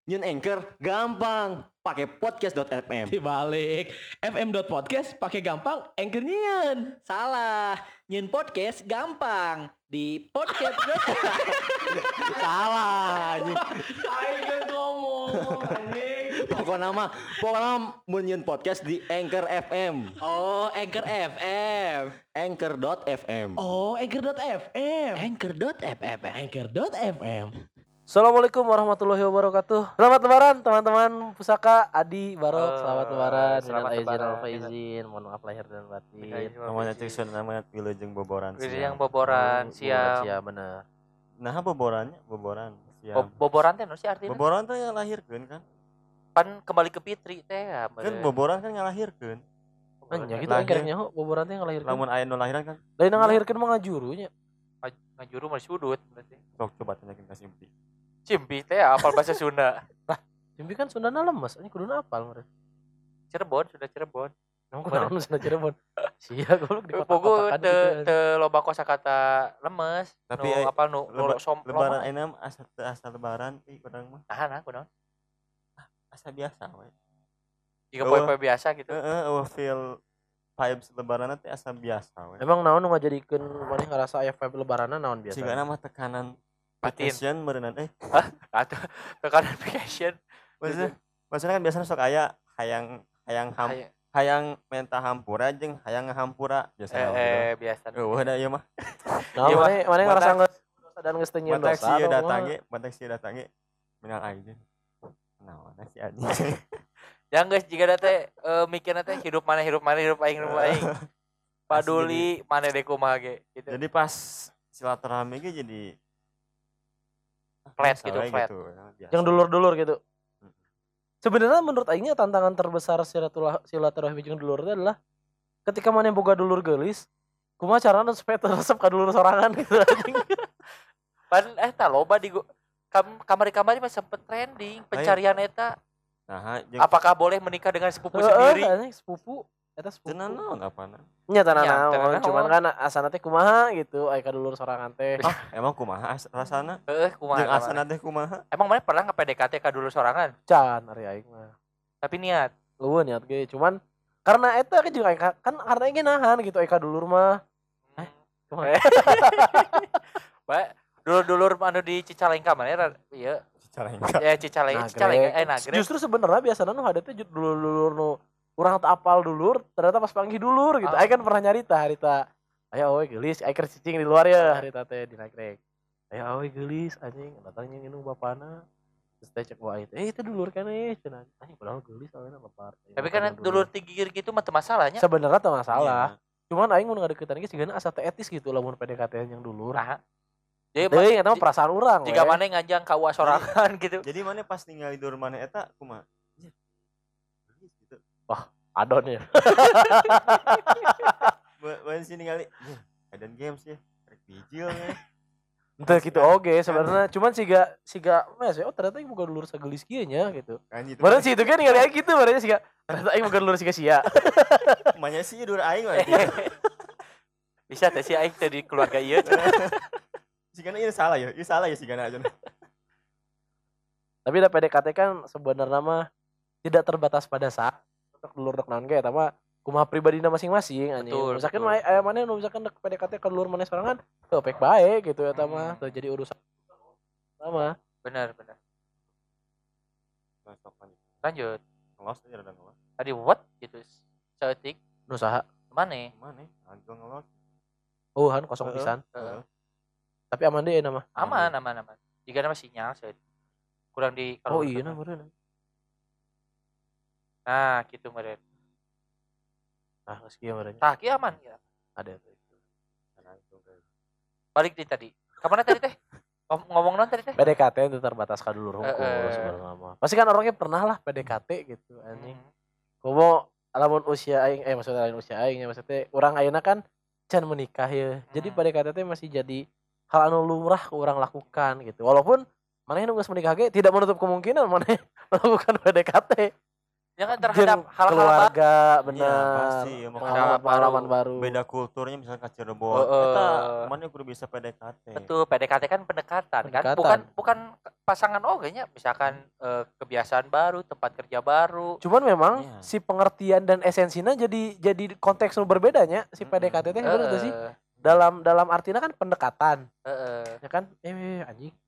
Nyun Anchor gampang, pakai podcast.fm. Dibalik fm.podcast pakai gampang Anchor nyian. Salah, nyun podcast gampang di podcast. Salah. anjing. Ayo ngomong anjing. Pokoknya mun nyun podcast di Anchor FM. Oh, Anchor FM. Anchor.fm. Oh, Anchor.fm. Anchor.fm. Anchor.fm. Assalamualaikum warahmatullahi wabarakatuh. Selamat lebaran teman-teman Pusaka Adi Barok. Selamat lebaran. Selamat Minal aizin lebaran. wal faizin. Mohon maaf lahir dan batin. Namanya cek sun namanya wilujeng boboran. Wilujeng yang boboran siap. Siap bener. Nah, boboran siap. Boboran teh no sih artinya? Boboran teh yang lahirkeun kan? Pan kembali ke Fitri teh ya. Kan boboran kan ngalahirkeun. Anya gitu Lahir. akhirnya boboran teh ngalahirkeun. Lamun aya nu lahiran kan. Lain ngalahirkeun mah ngajurunya. Ngajuru mah sudut berarti. Sok coba tanyakeun ka Simpi. Cimpi teh ya apal bahasa Sunda. Jembi kan Sundana lemes, ini kuduna apal meureun. Cirebon, sudah Cirebon. Namun kunaon Sunda Cirebon. Sia goblok di Pogo kota-kotakan teu gitu. teu loba kosakata lemes. Tapi Nu apa nu Lebaran ayeuna asa lebaran urang mah Nah, kunaon? asa biasa we. Jika poe-poe biasa gitu. Feel vibes lebaran teh asa biasa we. Emang naon nu ngajadikeun maneh ngarasa aya vibe lebaranna naon biasa? Sigana mah tekanan Batin. vacation berenang Atuh tekanan vacation. maksudnya kan biasanya sok aya hayang menta hampura jeung hayang ngahampura biasanya Biasa. da ieu mah Nah, Iya, maneh ngerasa batak- dosa dan geus teu nyieun batak dosa. sieu dong, datang mah. ge batak sieu datang ge minal aidin naon si anjing Yang geus jiga teh mikirna teh hidup mana hidup aing. Paduli mana deh kumaha ge gitu. jadi pas silaturahmi ge jadi Flat biasa gitu, we flat. biasa. Yang dulur-dulur gitu. Sebenarnya menurut aingnya tantangan terbesar silaturahmi jeung dulur itu adalah ketika mana boga dulur geulis, kumaha carana supaya teresep ka dulur sorangan gitu anjing. Pan eta loba di kamari-kamari mah sempet trending pencarian eta. Nah, jeung Apakah boleh menikah dengan sepupu sendiri? Anjing sepupu eta sepupu. tenan naon apana Nya tanah Nya, naon, tenan cuman naon. kan asana teh kumaha gitu aya ka dulur sorangan teh. emang kumaha rasana Kumaha. jeung asana teh kumaha Emang mana pernah nge-PDKT ka dulu sorangan? Can ari aing mah. Tapi niat. Eueuh niat ge, cuman karena eta kan juga aing kan karena aing ge nahan gitu aya ka dulur mah. Kumaha? Bae, dulur-dulur anu di Cicalengka mana ieu? cara enggak Ya Cicalengka Nagreg. Justru sebenarnya biasanya nu hade teh dulur-dulur nu urang teu apal dulur, ternyata pas panggil dulur gitu. Aing kan pernah nyarita harita. Aya we geulis, aing keur cicing di luar ya harita teh di Nagreg. Aya we geulis anjing, datangnya nginung bapana. Terus teh cek wae teh, itu dulur kan cenah. Anjing padahal geulis awalnya lepar. Tapi kan dulur tigir gitu mah teu masalahnya. Sebenarnya teu masalah. Iya. Cuman aing mun ngadeukeutan ge sigana asa teu etis gitu lamun PDKT yang dulur. Nah. Jadi Teuing eta mah perasaan urang we. jika mana ngajang ka uas sorangan gitu. jadi mana pas ningali dur mana eta kumaha gitu Adon ya. Buat sini ningali Eden Games ya rek bijil ya Entah gitu oge sebenarnya cuman siga mes oh ternyata ieu boga dulur sagelis kieu nya gitu. kan gitu Padahal sih itu kan ningali aing gitu barunya siga ternyata aing boga dulur siga sia. manya sih dur aing mah Bisa teh si aing teh di keluarga ieu. sigana ieu salah ya sigana aja Tapi da PDKT kan sebenarnya mah tidak terbatas pada saat untuk dulur dek naon ge eta mah kumaha pribadina masing-masing anjing. Betul, Misalkan betul. aya maneh nu misalkan dek PDKT ka dulur maneh sorangan teu pek bae gitu eta mah teu jadi urusan sama. Benar. masuk lanjut Lanjut. ngelos aja rada ngelos Tadi what gitu. Saeutik Nu saha? mana? mana agak ngelos Oh han kosong pisan. Heeh. Tapi aman deui nama. Aman. Jika nama sinyal saeutik. Kurang di Oh iya nah meureun. Nah, gitu meureun. Ah geus kieu meureun. Tah kieu aman ya. Ada tuh. Balik di tadi. Kamana tadi teh? Ngomong non tadi teh? PDKT itu terbatas ka dulur hukum Heeh. sebenarnya mah. Pasti kan orangnya pernah lah PDKT gitu anjing. Hmm. Kumo lamun usia aing maksudnya lain usia aing ya maksudnya urang ayeuna kan can menikah ya. Jadi PDKT teh masih jadi hal anu lumrah ke urang lakukan gitu. Walaupun maneh nu geus menikah ge tidak menutup kemungkinan maneh melakukan PDKT. Ya kan terhadap Jeung hal-hal keluarga Iya, benar. pasti ya, Pengalaman baru. beda kulturnya misalnya ka Cirebon Heeh. eta mana kudu bisa PDKT betul PDKT kan pendekatan kan Pendekatan. bukan pasangan nya misalkan kebiasaan baru, tempat kerja baru. Cuman memang Iya. si pengertian dan esensinya jadi konteks nu berbedanya si PDKT teh bener tuh sih. Dalam artinya kan pendekatan, ya kan? Anjing.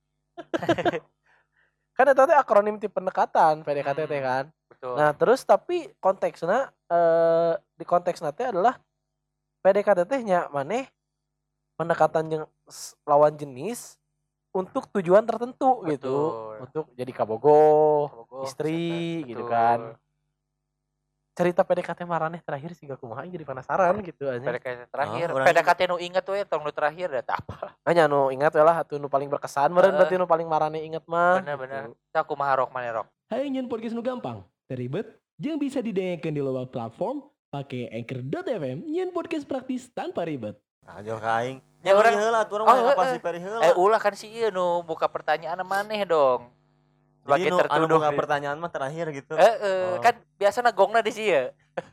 Kan eta teh akronim ti pendekatan PDKT teh kan. Betul. Nah, terus tapi konteksnya di konteksnya teh adalah PDKT teh nya maneh pendekatan yang lawan jenis untuk tujuan tertentu gitu. Betul. Untuk jadi kabogoh, Bogoh, istri betul. gitu kan. Cerita PDKT maraneh terakhir sih gak kumaha jadi penasaran gitu aja. PDKT terakhir, orang PDKT nu inget tuh ya, tong nu terakhir ada apa? Hanya nu ingat we lah atuh nu paling berkesan meureun Heeh. berarti nu paling maraneh inget mah. Bener-bener. Gitu. Kita kumaha rok maneh rok. Hayang nyen podcast nu gampang, teribet, jeung bisa didengarkan di loba platform pakai Anchor.fm nyen podcast praktis tanpa ribet. Ajo ka aing. Ya, orang- heula atuh Oh, urang apa sih peri heula. Ulah kan si ieu nu buka pertanyaan maneh dong. Jadi Sebagai nu anu tertuduh. boga pertanyaan mah terakhir gitu. Oh. Kan biasanya gongna di sieu.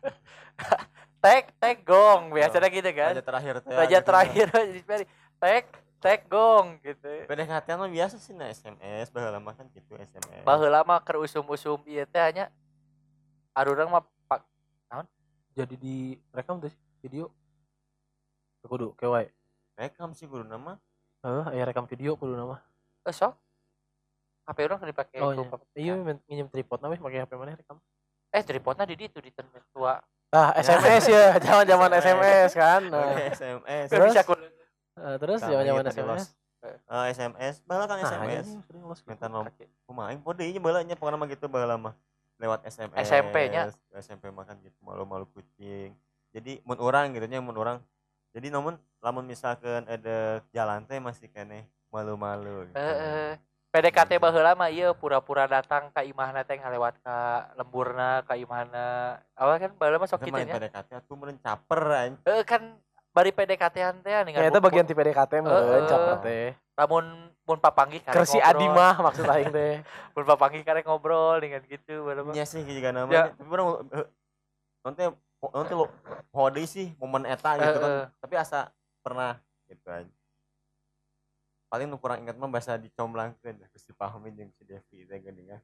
Tag gong biasanya gitu kan. Raja terakhir teh. Raja gitu. terakhir di Perry. Tag gong gitu. PDKT mah biasa sih na SMS baheula mah kan gitu SMS. Baheula mah keur usum-usum ieu teh hanya arurang mah Jadi di rekam tuh sih video. Kudu kewae. Rekam sih guru nama. Aya rekam video kudu nama. sok HP urang keur dipake Oh ku iya. papa. Iya minjem tripod namanya pakai HP mana rekam. Tripodnya di ditu di tempat tua. SMS ya, zaman-zaman SMS kan. Nah, SMS. Kan bisa ku terus zaman-zaman SMS. SMS baheula kan SMS. Minta nomor kumaha aing pode ieu baheula nya pokona mah gitu baheula mah. Lewat SMS. SMP-nya. SMP mah kan gitu malu-malu kucing. Jadi mun urang gitu nya mun urang. Jadi lamun misalkan ada jalan teh masih keneh malu-malu gitu. PDKT baheula mah ieu pura-pura datang ka imahna teh ngalewat ka lemburna ka imahna. Awal kan baheula mah sok Kita kitu main nya. PDKT atuh meureun caper aing. Kan bari PDKT-an teh Ya itu bagian ti PDKT meureun caper teh. Lamun mun papanggih karek Kersi Adi mah maksud aing teh. mun papanggih karek ngobrol dengan gitu baheula mah. Nya sih juga Ya. namanya. Tapi urang nanti lo hode sih momen eta gitu kan. Tapi asa pernah gitu aja. Paling nu kurang ingat mah bahasa dicomblangkeun terus dipahamin jeung si Devi teh geuningan.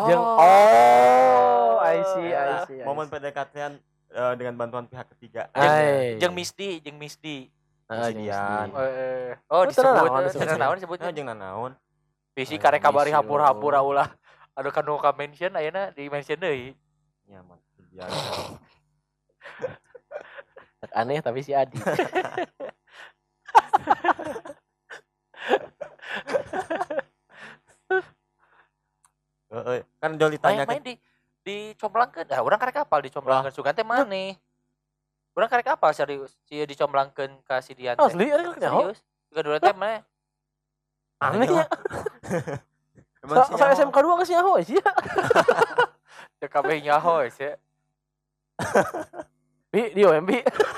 I see. Momen PDKT-an dengan bantuan pihak ketiga. Jeung Misdi. Sidian. Disebut naon disebutnya. Jeung nanaon? Bisi karek kabari hapura-hapura ulah. Aduh kan nu ka mention ayeuna di mention deui. Nya mah Sidian. Aneh tapi si Adi. Kan Jol ditanya Main di comblangkeun. Urang karek apal dicomblangkeun sugan teh maneh. Urang karek apal serius. Si dicomblangkeun ka si Dian teh. Asli ari nyaho. Serius. Juga dulu teh maneh. Aneh ya. Emang si Saya SMK 2 ke nyaho sih. Teu kabeh nyaho sih. Di OMB.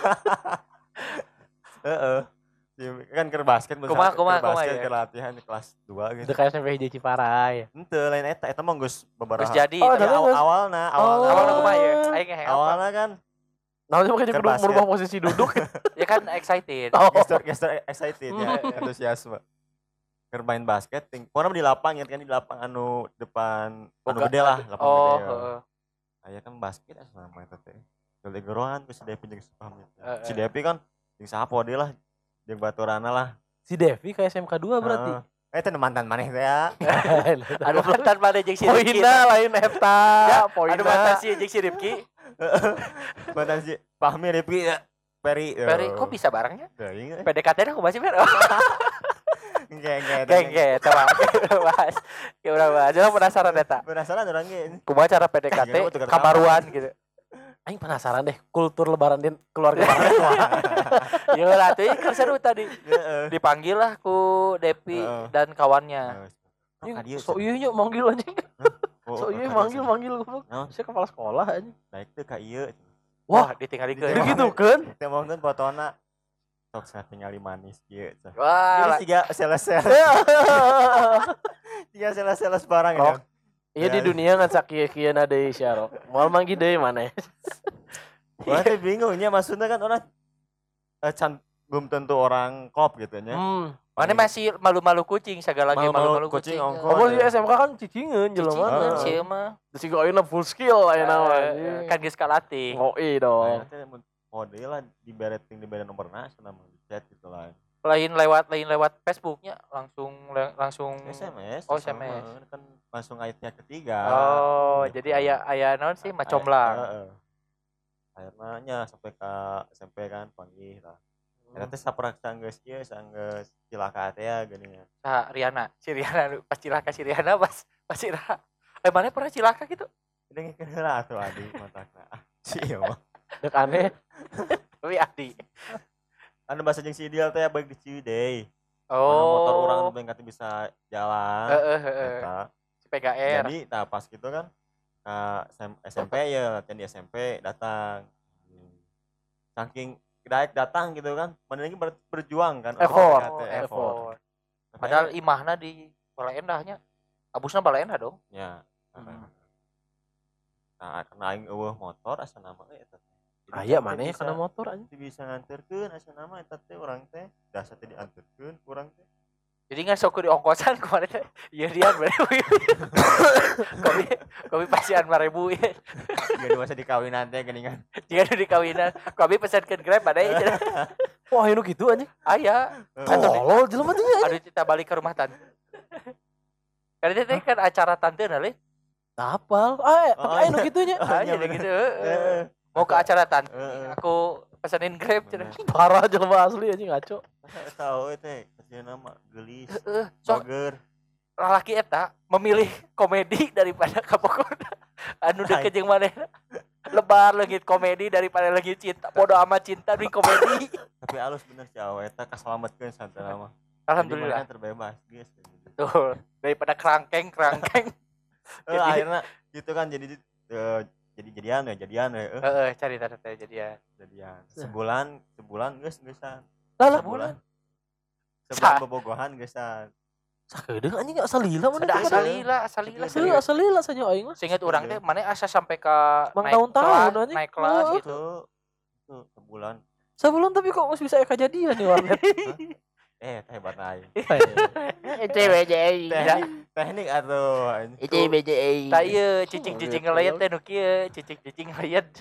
Heeh. Kan keur basket Kumaha basket ya? keur latihan di kelas 2 gitu. Itu kayak SMP hiji Ciparai. Henteu lain eta mah geus babaraha. Geus jadi. Oh, tapi ada geus. Awalna awalna kumaha ya? Aing ngeheng apa? awalna kan Nah, cuma kayak Keur kudu basket. merubah posisi duduk. Ya kan excited. gesture excited ya, antusiasme. Keur main basket, pokoknya di lapang ya kan di lapang anu depan anu Boga- gede lah, lapang Oh, gede. heeh. Aya kan basket sama eta teh. Gede gerohan ku si Devi jeung si Pahmi. Heeh. Si Devi kan jeung saha pode lah, jeung baturana lah. Si Devi ke SMK 2 berarti. Eta mantan maneh teh ya. Ada mantan mana jeung si Rifki. Poinna lain eta. Ada mantan si jeung si Rifki. Mantan si Pahmi Rifki ya. Peri. Peri kok bisa barengnya? Teuing. PDKT aku masih Fer. Geng. Geng, teman. Bahas. Ya udah bahas. Jangan penasaran eta. Penasaran orang ge. Kumaha cara PDKT Iya, tukar kabaruan gitu. Aing penasaran deh kultur lebaran din keluarga mana. Ya lah tuh kan seru tadi. Heeh. Dipanggil lah ku Depi Heeh. dan kawannya. So iya nya manggil anjing. So iya manggil goblok. Naon? Saya kepala sekolah anjing. Baik teh ka ieu. Wah, ditinggalikeun. Ditinggal. Gitu kan? Teh mohon fotona. Sok satingali manis kieu. Wah, Jadi siga sales-sales. Siga sales-sales barang Rok. ya. Iya di dunia ngan sakieu-kieu na deui sia Rok. Moal manggi deui maneh. Gua teh bingungnya maksudnya kan orang can belum tentu orang klop gitu nya. Mana masih malu-malu kucing segala lagi malu-malu kucing. ongkos. Oh, di SMK kan cicingeun jelema. Cicingeun Heeh. sih mah. Terus juga ayeuna full skill ayeuna mah. Kan geus kalatih. Ngoi dong. Ayeuna teh mode lah dibere nomorna cenah mah di chat gitu lah. Lain lewat Facebooknya langsung SMS. Oh, sama, SMS. kan langsung ayatnya ketiga. Oh, Gitu. jadi aya naon sih macomblang. Akhirnya sampai ke SMP kan panggil lah. Eta teh saperak sanggeus ieu sanggeus cilaka teh ya geuningan. Riana, si Riana pas cilaka si Riana pas Ira. Mana pernah cilaka gitu? Dengekeun heula atuh adi matakna. Sia mah. Dek aneh. Tapi Adi. Anu bahasa jeung si Ideal teh baik di Ciwidey. Oh. Motor urang teh kata bisa jalan. Eta. Si PGR. Jadi nah pas gitu kan SMP ya latihan di SMP datang. Saking daek datang gitu kan, mana lagi berjuang kan. Effort. Padahal imahna di Bala Endahnya. Abusna Bala Endah dong. Ya. Nah, karena aing eueuh motor asa nama eta. Aya maneh kana motor anjing. Bisa nganterkeun asa nama eta teh urang teh. Dasa teh dianterkeun urang teh. Jadi nggak sok di ongkosan kemarin teh. Iya dia bener. Kopi pasian 5.000 ya. Gak masa dikawinan teh geuningan. Jika di kawinan, kopi pesankeun Grab ada ya. Wah, anu gitu anjing. Aya. Tolol jelema teh anjing. Aduh kita balik ke rumah tante. Karena teh kan acara tante nale. Tapal. Tapi anu gitunya. Jadi gitu. Mau ke acara tante. Aku pesanin Grab cenah. Parah jelema asli anjing ngaco. Tahu teh kasih nama gelis. Sok Bager. lalaki eta memilih komedi daripada kapokona. Anu deket jeung manehna. Lebar leungit komedi daripada leungit cinta. Bodoh amat cinta di komedi. Tapi halus bener si awe eta kasalametkeun santana mah. Alhamdulillah. Terbebas geus. Betul. Daripada kerangkeng. Akhirnya gitu kan jadi jadian ya. Cari teh jadian. Sebulan geusan. Sebulan. Sebulan bobogohan geusan. Sakedeung anjing asalila mana? Asalila. Asalila saja aing mah. Seinget urang teh mana asa sampai ke naik kelas gitu. Itu sebulan. Sebulan tapi kok masih bisa kejadian nih warnet. Hebat aing. CBJI. Teknik atuh. CBJI. Tah ieu cicing-cicing ngeliat teh nu kieu, cicing-cicing ngeliat.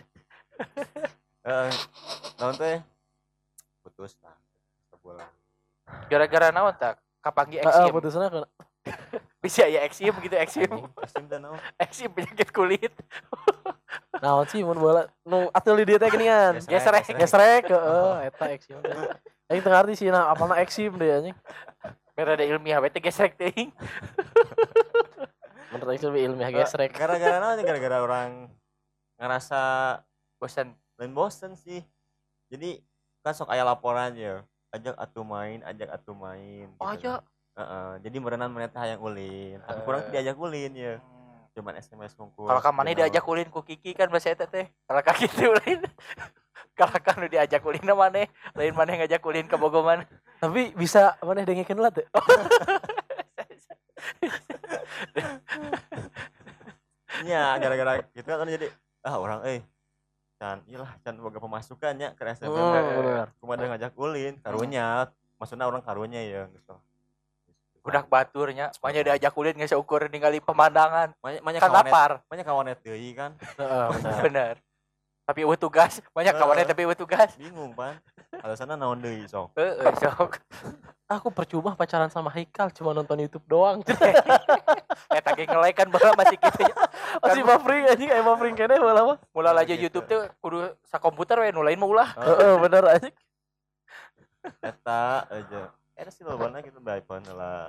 Naon teh? Putus lah. Sebulan. Gara-gara naon tah? Kapanggi eksim. Putusna kana. Bisa ya eksim gitu eksim. Eksim teh naon? Eksim penyakit kulit. Naon sih mun bola nu atuh di dieu teh geuningan. Gesrek eta eksim. Aing teu ngarti sih apalna eksim deh anjing. Mere ada ilmiah we teh gesrek teuing. Menurut aing lebih ilmiah gesrek. Gara-gara naon? Gara-gara orang ngerasa Bosan. lain bosen sih. Jadi kan sok aya laporan ya. Ajak atuh main. Oh gitu. iya. Jadi merenan meneta hayang ulin. Tapi kurang diajak ulin ya. Cuman SMS ngungkul. Kalau ka maneh diajak ulin ku Kiki kan bahasa eta teh. Kalau ka kitu ulin. Kalau kan nu diajak ulin na maneh, lain maneh ngajak ulin ka Bogoman. Tapi bisa maneh dengekeun lah teh. Iya, gara-gara gitu kan jadi orang can boga pemasukan ya ke SMP. Bener. Cuma ada ngajak ulin karunya. Maksudnya orang karunya ya gitu. Budak baturnya, banyak diajak ulin geus ukur ningali pemandangan. Banyak Kan lapar. Banyak kawanet deui kan. Bener. Tapi eueuh tugas, banyak kawannya tapi eueuh tugas. Bingung pan. Alasanna naon deui sok. Sok. Aku percuma pacaran sama Haikal cuma nonton YouTube doang. Eta ge ngelek kan baheula masih kitu nya. Masih buffering anjing aya buffering keneh baheula mah. Mulai aja YouTube teh kudu sakomputer we nu lain mah ulah. Bener anjing. Eta aja. Eta sih lobana gitu by iPhone.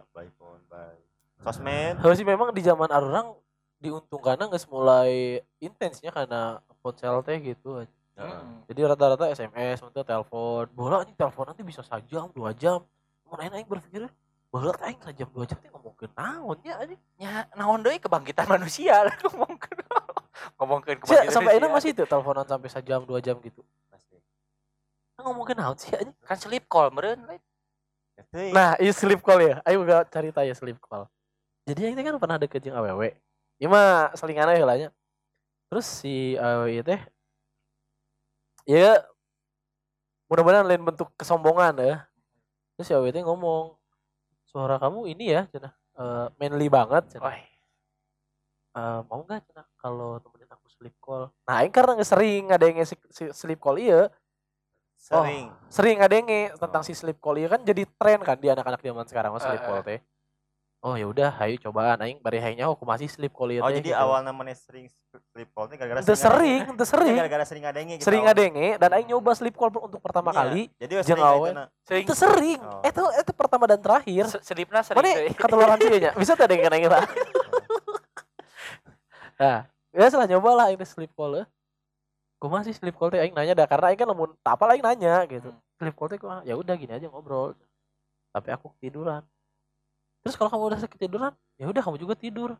Sosmed. Heuh sih memang di zaman arurang diuntungkanna geus mulai intensnya karena ponsel teh gitu. Jadi rata-rata SMS untuk telepon. Bola anjing telepon nanti bisa sajam 2 jam. Mun aing berpikir baheula teh aing sajam 2 jam teh ngomongkeun naon nya anjing. Ya naon deui kebangkitan manusia lah ngomongkeun kebangkitan. Sampai enak masih itu teleponan sampai sajam 2 jam gitu. Pasti. Ngomongkeun naon sih anjing? Kan sleep call meureun. Nah, ieu sleep call ya. Ayo gak cerita ya sleep call. Jadi aing teh kan pernah deket jeung awewe. Ieu mah selingan heula nya. Terus si awewe ieu teh ya mudah-mudahan lain bentuk kesombongan ya. Terus si awewe teh ngomong, suara kamu ini ya cenah manly banget cenah. Wah, Mau nggak cenah kalau temenin aku sleep call. Nah aing karena sering ngadenge si sleep call iya sering ngadenge tentang si sleep call iya kan jadi tren kan di anak-anak zaman sekarang mah sleep call teh. Oh ya udah, ayo cobaan aing bari hayangnya aku masih sleep call ieu Oh teh. jadi gitu. awal namanya sering sleep call itu gara-gara Teu sering. gara-gara sering ngadenge gitu. Sering ngadenge dan aing nyoba sleep call untuk pertama kali. Jadi jeung sering awe. aweuna. sering Itu sering. Oh. Itu pertama dan terakhir. sedipna sering Mana deui. ketularan sih nya? Bisa teh dengan aing lah. Nah, ya setelah nyoba lah ini sleep call. Kumaha sih sleep call teh aing nanya dah karena aing kan lamun tak apa aing nanya gitu. Sleep call teh kumaha? Ya udah gini aja ngobrol. Tapi aku ketiduran. Terus kalau kamu udah ketiduran, ya udah kamu juga tidur.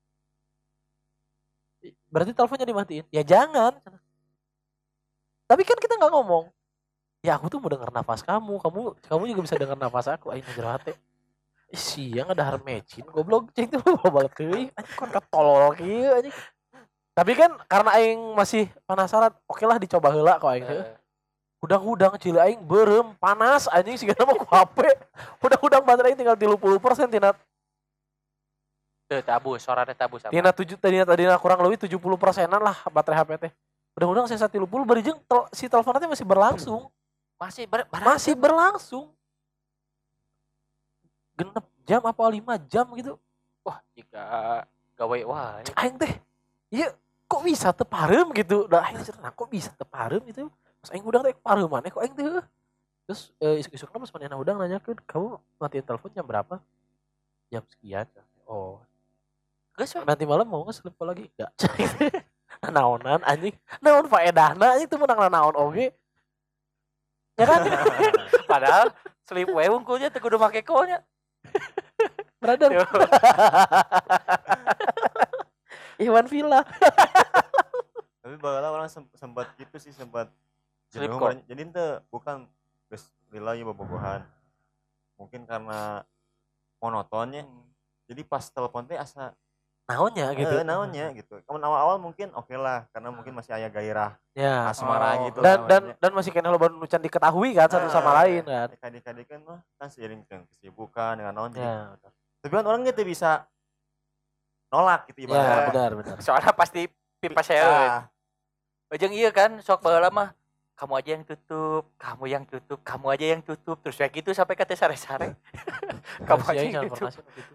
Berarti teleponnya dimatiin? Ya jangan. Tapi kan kita nggak ngomong. Ya aku tuh mau dengar nafas kamu juga bisa dengar nafas aku. Aing ngejer hati. Ih, siang ada harmecin goblok cing tuh balik teuing. Anjing kon katolol kieu anjing. Tapi kan karena aing masih penasaran, oke lah dicoba heula kok aing teh. Hudang-hudang cili aing berem panas anjing sigana mah ku HP. Hudang-hudang baterai aing tinggal 30% tina Teu tabus, sorana tabus apa? tadina kurang lebih 70%-an lah baterai HP teh. Hudang-hudang saya 30 bari jeung si telepon teh masih berlangsung. Masih berlangsung. Genep jam apa 5 jam gitu. Wah, jika gawe wah. Cek aing teh. Iya, kok bisa teu pareum gitu. Da aing cerita, kok bisa teu pareum gitu. Pas aing udang teh pareum maneh kok aing teh. Terus isuk-isukna pas manehna udang nanyakeun, "Kamu matiin telepon jam berapa?" Jam sekian. Oh. Geus Nanti malam mau nggak sleep call lagi? Enggak. Naonan anjing. Naon faedahna anjing teu meunang naon oge. Ya kan? padahal sleep we wungkulnya teu kudu make call-nya. Brother. Iwan Villa. Tapi baheula orang sempat gitu sih sempat Sleep jenuh call. banyak. Jadi ente bukan geus lila ieu bobogohan. Mungkin karena monotonnya. Jadi pas telepon teh asa Naonnya gitu. naonnya gitu. Kamu awal-awal mungkin oke lah karena mungkin masih aya gairah Ya. asmara Oh. gitu. Dan masih kena loba nu can diketahui kan satu sama lain kan. Adik-adik kan mah kan seiring dengan kesibukan dengan naon jadi. Ya, Tapi kan orang gitu bisa nolak gitu ya ibaratnya. benar. Soalnya pasti pipa saya. Jeung iya kan sok baheula mah kamu aja yang tutup, kamu aja yang tutup terus kayak gitu sampai ke sare-sare. kamu aja yang tutup,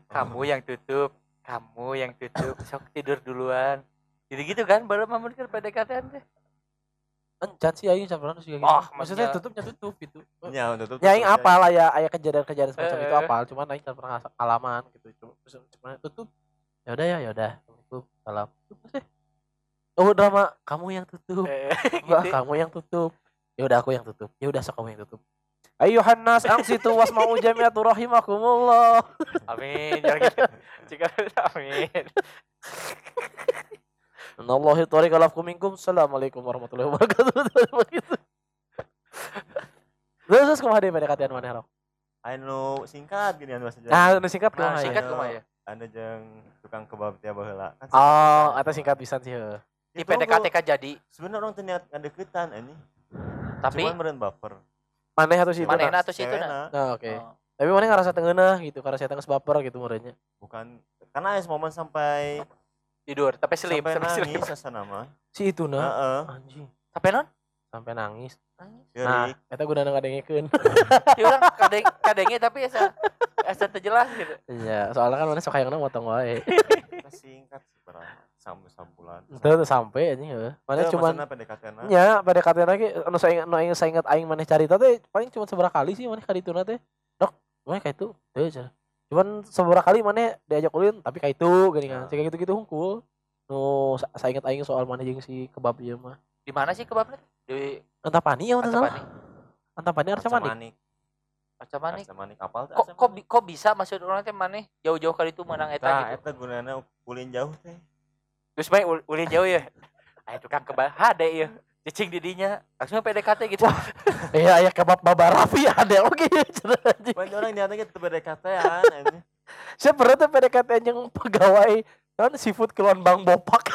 kamu yang tutup, sok tidur duluan. Gitu kan baru mah mungkin PDKT teh. Encan sih aing samperan juga gitu. Oh, Maksudnya maksudnya- tutupnya tutup gitu. Ya, tutup. Ya aing apal lah ya aya kejadian-kejadian semacam itu Eh. apal, cuman aing tak pernah pengalaman gitu. Cuma tutup. Ya udah. Tutup. Salam. Tutup sih. Oh drama kamu yang tutup. Enggak, gitu. kamu yang tutup. Ya udah aku yang tutup. Ya udah sok kamu yang tutup. Ayuhan nas angsitu wasma'u jami'atu rahimakumullah. Amin. Jangan gitu. Jika amin. Anallahi tariqa lakum minkum. Assalamualaikum warahmatullahi wabarakatuh. Terus kumaha deui PDKT-an maneh rok? Anu singkat gini anu saja. Nah, nu singkat Nah, kumaha singkat ya? kumaha ya? Ada jeung tukang kebab tiap baheula. Kan Oh, eta singkat pisan sih heuh. Di PDKT kan jadi, sebenarnya orang teu niat ngadeukeutan anjing. tapi Cuman meureun baper. Maneh atuh situ. manehna atau situ Cewekna. Nah, oke. Oh. Tapi maneh ngerasa tengeunah gitu, karena saya tengah baper gitu meureunnya. Bukan karena aya momen sampai Tidur, tapi sleep, sampai tapi sleep. nangis asana mah. Si itu nah. Heeh. Anjing, Sampai non? sampai nangis. Nah, Geurik. eta gunana ngadengekeun. Ya orang kadenge tapi asa teu jelas gitu. Iya, soalnya kan maneh sok hayangna motong wae. Kita singkat sih berapa? Sambulan. Teu sampai anjing heuh. Maneh cuman PDKT-na. nya PDKT lagi anu saya ingat aing maneh carita teh paling cuma seberapa kali sih maneh ka dituna teh. Dok, maneh ka itu. Teu cenah. Cuman seberapa kali maneh diajak ulin tapi ka itu geuning kan. Kayak gitu-gitu hungkul. Nu saya ingat aing soal maneh jeung si kebab ieu mah. Di mana sih kebabnya? Di Antapani ya salah. Antapani. Antapani Arca Manik. Arca Manik apal teh? Kok bisa maksud orang teh maneh jauh-jauh kali itu menang eta Nah, gitu. eta gunana ulin jauh teh. Terus bae ulin jauh ya. Aya tukang kebab hade ya. Cicing didinya langsung PDKT gitu. Iya, aya kebab Baba Raffi ada oge cenah anjing. Pan orang niatnya gitu PDKT-an anjing. Saya pernah tuh PDKT yang pegawai kan seafood keluar Bang Bopak.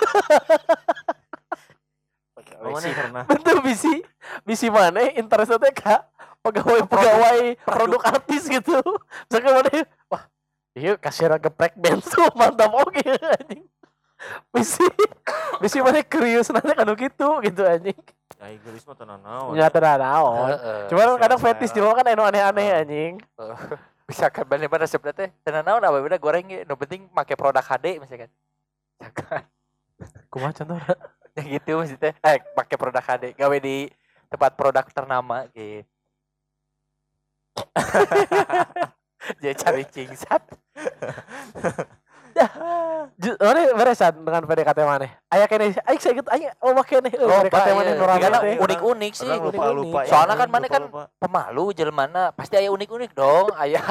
Mana pernah? Bentuk bisi mana interestnya kak pegawai produk artis gitu. Misalkan mana wah Iya kasih geprek bensu mantap oke anjing. Misi mana krius nanti kanu gitu anjing. Ya gelis mah tenan naon. Nya teu naon. Cuma kadang Selera. fetish jelema kan anu aneh-aneh anjing. Bisa kan bane-bane sebenarnya teh tenan naon apa beda goreng ge nu penting make produk HD misalkan. Misalkan Kumaha contohna? yang gitu maksudnya pakai produk HD gawe di tempat produk ternama gitu. Dia cari cingsat. Mana beresan dengan PDKT mana? Aya kene, aing saya gitu, aing make kene PDKT mana nu Karena rame. unik-unik sih. Orang lupa-lupa ya. Soalnya kan mana kan Lupa-lupa. pemalu jelema pasti aya unik-unik dong, aya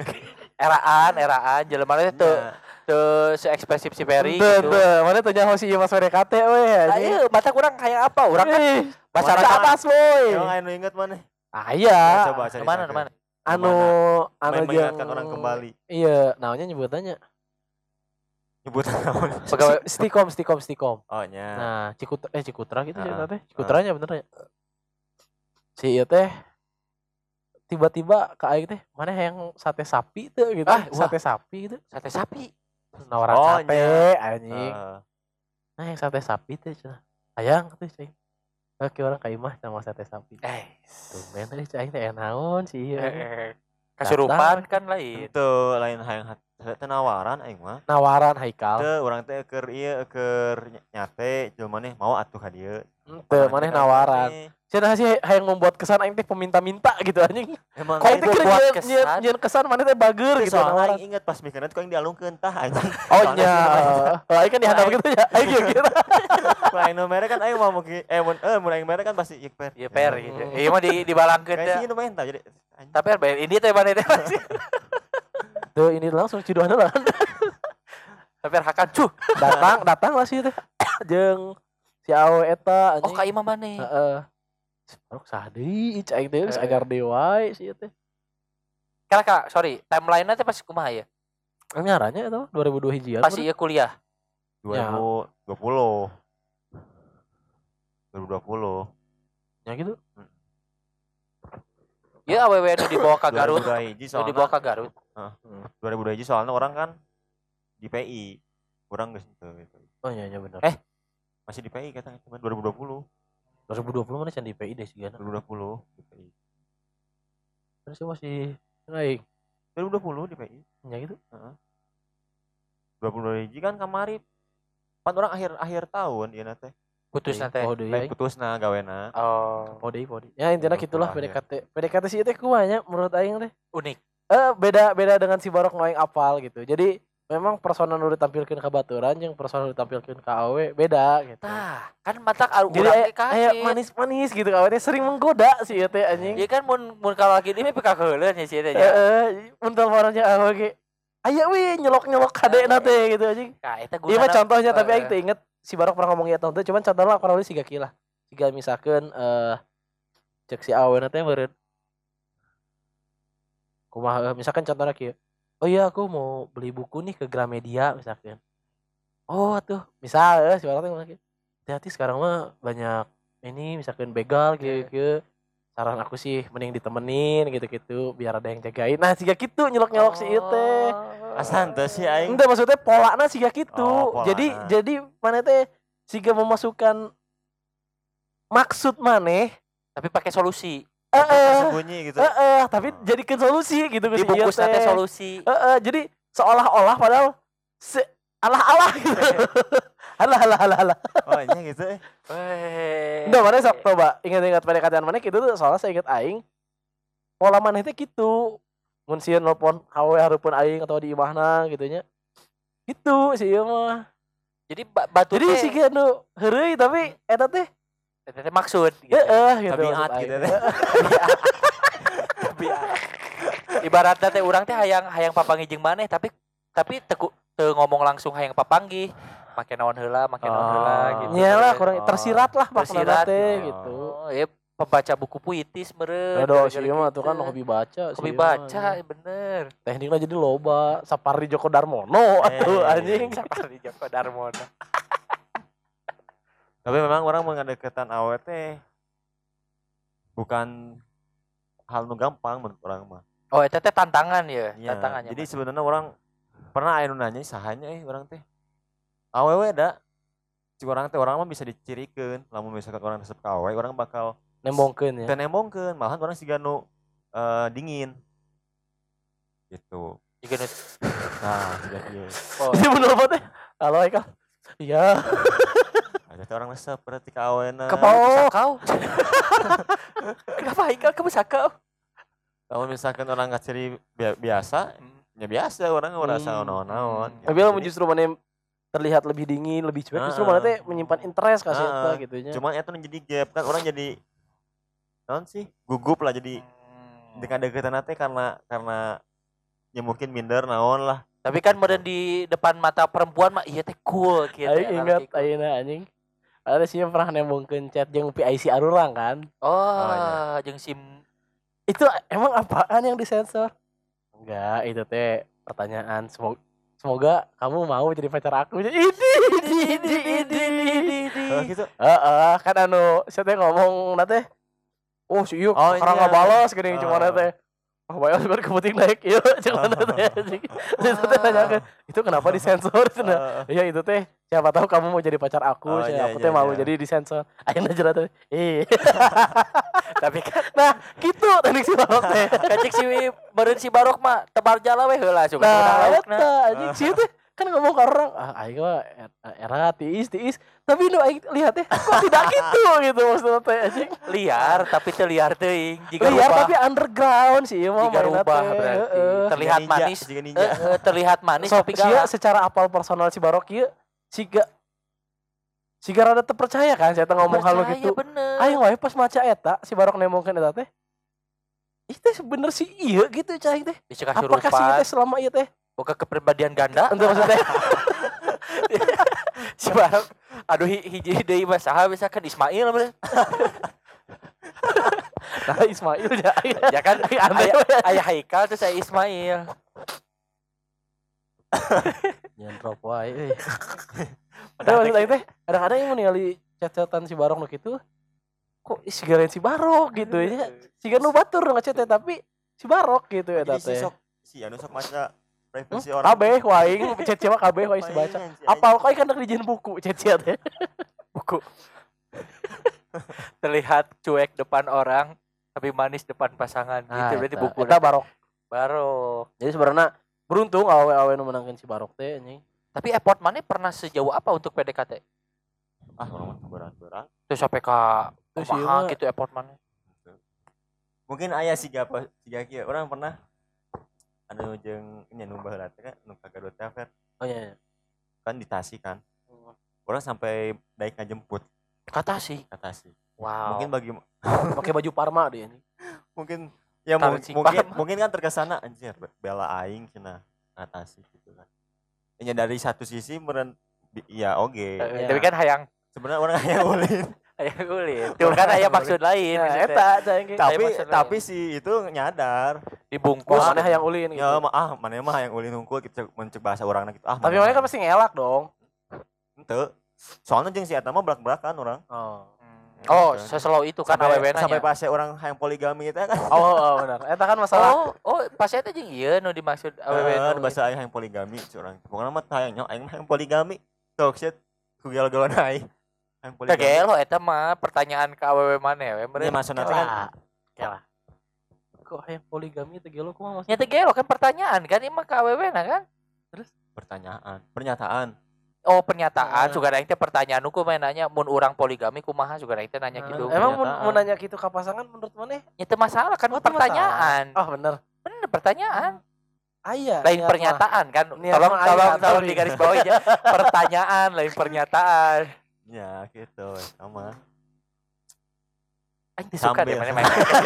eraan jelema teh teu se-ekspresif si Ferry gitu. Mana teu nyaho si ieu mas PDKT we Nah, anjing. iya, mata kurang kayak apa? Urang kan Masyarakat masyarakat atas boy. Emang anu inget mana? Aya. Coba cari. mana? Anu Main yang mengingatkan orang kembali. Iya, namanya nyebutannya. Nyebut naon? Pegawai Stikom. Oh nya. Nah, Cikutra gitu cerita teh. Ah. Cikutranya bener ya. Si ieu teh tiba-tiba ke aing teh, mana yang sate sapi tuh gitu. Ah, wah. Sate sapi gitu. sate sapi. Nawaran Oh, sate nya. anjing. Heeh. Nah, yang sate sapi tuh cenah. Ayang tuh cing. Oke orang ka imah sama sate sapi. Tumben teh cing teh naon sih ieu. Kasurupan kan lain. Itu lain hayang teh nawaran aing mah. Nawaran Haikal. Teu urang teh keur ieu keur nyate jelema maneh mau atuh ka dieu. Teu maneh nawaran. Cenah sih hayang membuat kesan aing teh peminta-minta gitu anjing. Emang Kau itu teh keur buat nyieun kesan maneh teh bager gitu soalnya nawaran. aing inget pas mikirna tuh aing dialungkeun tah anjing. Oh nya. Aing kan dihadap gitu ya. Aing kira. Lain nu mere kan aing mau mun aing mere kan pasti ieu per. Iya per gitu. Iya mah dibalangkeun Kayak teh. sih nu main tah jadi. Tapi bayar ini teh mana teh. Tuh ini langsung ciduhan lah. Tapi hakan cuh. datang lah sih teh. Jeung si awe eta Oh anjing. ka imah mana? Heeh. Barok sadi aing teh geus agar dewa sih teh. Karena kak, sorry, timeline-nya teh pasti kumaha ya? Ngaranya eta 2002 hijian. Pasti ieu kuliah. 2020. 2020. Ya gitu. Ya awewe nu dibawa ka Garut, 2002 hiji nu soalnya dibawa ka Garut. 2002 hiji soalnya orang kan di PI. Kurang geus gitu. Oh iya bener. Masih di PI kata cuma 2020. 2020 mana can di PI deh sih kan. 2020 di PI. Terus masih naik. 2020 di PI. Ya gitu. 2022 hiji kan kamari pan orang akhir tahun ieu na teh. Putus teh. Oh Lain deui. putusna gawena. Oh, Podi. Ya intinya gitulah Akhir. PDKT sih teh kumaha menurut aing teh. unik. Beda dengan si Barok nu aing apal gitu. Jadi memang persona nu ditampilkeun ka baturan jeung persona nu ditampilkeun ka awe beda gitu. Tah, kan matak Jadi urang teh aya manis-manis gitu awe teh sering menggoda sih ieu teh anjing. Ieu kan mun kalau lagi ini pika heuleun ya si teh. Mun teleponnya awe ge aya we nyelok-nyelok kadena teh gitu anjing. Nah, eta Iya mah contohnya tapi aing teh teu inget si Barok pernah ngomong ieu teh cuman contohnya kurang lebih siga kieu lah. Siga misalkeun cek si aweuna teh meureun kumaha misalkan contohnya kieu. Oh iya aku mau beli buku nih ke Gramedia misalkan. Oh tuh misal si Barok teh ngomong kieu. Hati-hati sekarang mah banyak ini misalkan begal gitu. Saran aku sih mending ditemenin gitu-gitu biar ada yang jagain. Nah siga kitu nyelok-nyelok si ieu teh. Asa henteu sih aing. Enggak maksudnya polana siga gitu. Oh, polana. Jadi mana teh siga memasukkan maksud maneh tapi pakai solusi. Sembunyi gitu. tapi jadikan solusi gitu ke si ieu Dibungkus teh. teh solusi. Jadi seolah-olah padahal alah-alah gitu. Alah. Oh nya gitu. Enggak mana sok coba ingat-ingat PDKT mana gitu tuh soalnya saya ingat aing pola maneh teh gitu. Mun sieun nelpon hawe hareupeun aing atau di imahna gitu nya. Gitu sih ieu mah. Jadi batu Jadi teh siga nu heureuy tapi eta teh eta teh maksud gitu. gitu. Tabiat maksud gitu aing. teh. Ibaratna teh urang teh hayang papanggih jeung maneh tapi teu ngomong langsung hayang papanggih. Make naon heula gitu. Nyalah kurang tersirat lah Tersirat makna teh gitu. gitu. Ya pembaca buku puitis meureun. Aduh si ieu mah tuh kan hobi baca Hobi sih. baca bener. Tekniknya jadi loba. Sapardi Djoko Darmono atuh anjing. Sapardi Djoko Darmono. Tapi memang orang mengadeketan awet teh bukan hal nu gampang menurut orang mah. Oh eta teh tantangan ya, Iya, tantangannya. jadi sebenarnya orang pernah aya nu nanya sahanya urang teh awewe da si orang teh orang mah bisa dicirikeun lamun misalkan orang resep ka awewe orang bakal nembongkeun ya. teu nembongkeun malahan orang siga nu dingin gitu. Nah, siga kieu. Ini bener apa teh? Halo Haikal. Iya. Ada teh orang resep berarti ka awena. Sakau. Kenapa Haikal kamu sakau? Kalau misalkan orang ngaciri biasa, ya biasa orang ngerasa naon-naon. Tapi lamun justru mana terlihat lebih dingin, lebih cuek, justru mana teh menyimpan interest kasih eta gitu nya. Cuman eta jadi gap kan orang jadi naon sih? Gugup lah jadi dengan deketan teh karena ya mungkin minder naon lah. Tapi kan modern di depan mata perempuan mah iya teh cool gitu. Aing ingat ayeuna anjing. Ada sih yang pernah nembongkeun chat jeung PIC arurang kan. Oh, jeung SIM Itu emang apaan yang disensor? Enggak, itu teh pertanyaan. Semoga kamu mau jadi pacar aku. Ini. Gitu. Kan anu saya teh ngomong teh. Oh, si ieu karang ngabalas geuning cuma teh. Oh, bayar sebenarnya kepenting naik. Iya, cuma teh. Itu teh nanyakeun, itu kenapa disensor cenah? Iya, itu teh siapa tahu kamu mau jadi pacar aku, aku teh mau jadi disensor. Ayeuna jerat teh. Tapi kan nah gitu teknik si Barok teh. Kacik si beureun si Barok mah tebar jala we heula suka nah eta anjing si teh kan ngomong ke orang aing mah era tiis tapi nu aing lihat teh kok tidak gitu maksudnya teh anjing liar tapi teu liar teuing liar tapi underground sih mah jika rubah berarti terlihat manis terlihat manis tapi galak secara apal personal si Barok ieu siga rada terpercaya kan saya ngomong hal gitu. Aing wae pas maca eta si Barok nemongkeun eta teh. Itu bener sih iya gitu cai teh. Apakah sih teh selama ieu teh buka kepribadian ganda? Untuk maksudnya si Barok aduh hiji deui mah saha misalkan Ismail bener. Nah Ismail ya kan aya Haikal terus aya Ismail. Jangan drop wae euy. Padahal maksud aing teh kadang-kadang yang ningali chat-chatan si Barok nu kitu kok sigaren si Barok gitu ya. Siga nu batur ngechat teh tapi si Barok gitu eta teh. Si anu sok maca privasi orang. Kabeh waing chat mah kabeh waing dibaca. Apal kok kan dijieun buku chat teh. Buku. Terlihat cuek depan orang tapi manis depan pasangan gitu berarti buku. Eta Barok. Jadi sebenarnya beruntung awe-awe nu menangkeun si Barok teh anjing. Tapi effort mana pernah sejauh apa untuk PDKT? Orang berat-berat. Terus sampai ke kumaha gitu effort mana? Mungkin aya siga kieu. Orang pernah anu jeung nya nu baheula teh kan nu ka Garut teh. Oh iya. Kan di Tasik kan. Orang sampai daek ngajemput. Ka Tasik. Wow. Mungkin bagi pakai baju Parma dia ini. Mungkin ya mungkin kan terkesana anjir bela aing cenah Tasik gitu kan. Ya dari satu sisi meren iya oke. Tapi kan hayang sebenarnya orang hayang ulin. Hayang ulin. Tuh kan aya maksud lain. Tapi si itu nyadar dibungkus mana hayang ulin gitu. Ya mana mah hayang ulin hungkul gitu mencek bahasa orangna gitu. Tapi mana kan pasti ngelak dong. Henteu. Soalnya jeung si eta mah belak-belakan orang. Oh, seslow itu kan awewena sampai pas orang hayang poligami itu kan. Oh, benar. Eta kan masalah. Oh, pas eta jeung ieu nu dimaksud awewena. Bahasa hayang poligami curang. Pokona mah hayang aing hayang poligami. Sok shit ku gelo-gelo naik. Hayang poligami. Kagelo eta mah pertanyaan ka awewe maneh we meureun. Ya maksudna kan. Kelah. Kok hayang poligami teh gelo kumaha maksudnya? Ya teh gelo kan pertanyaan kan ieu mah ka awewena kan. Terus pernyataan. Oh pernyataan, juga aing teh pertanyaan hukum nanya mun urang poligami kumaha juga aing teh nanya gitu. Emang mun nanya gitu ka pasangan menurut maneh? Ya teu masalah kan pertanyaan. Oh bener. Bener pertanyaan. Aya. Lain pernyataan kan. Tolong di garis bawah aja. Pertanyaan lain pernyataan. Ya gitu sama. Aing teh suka deh main.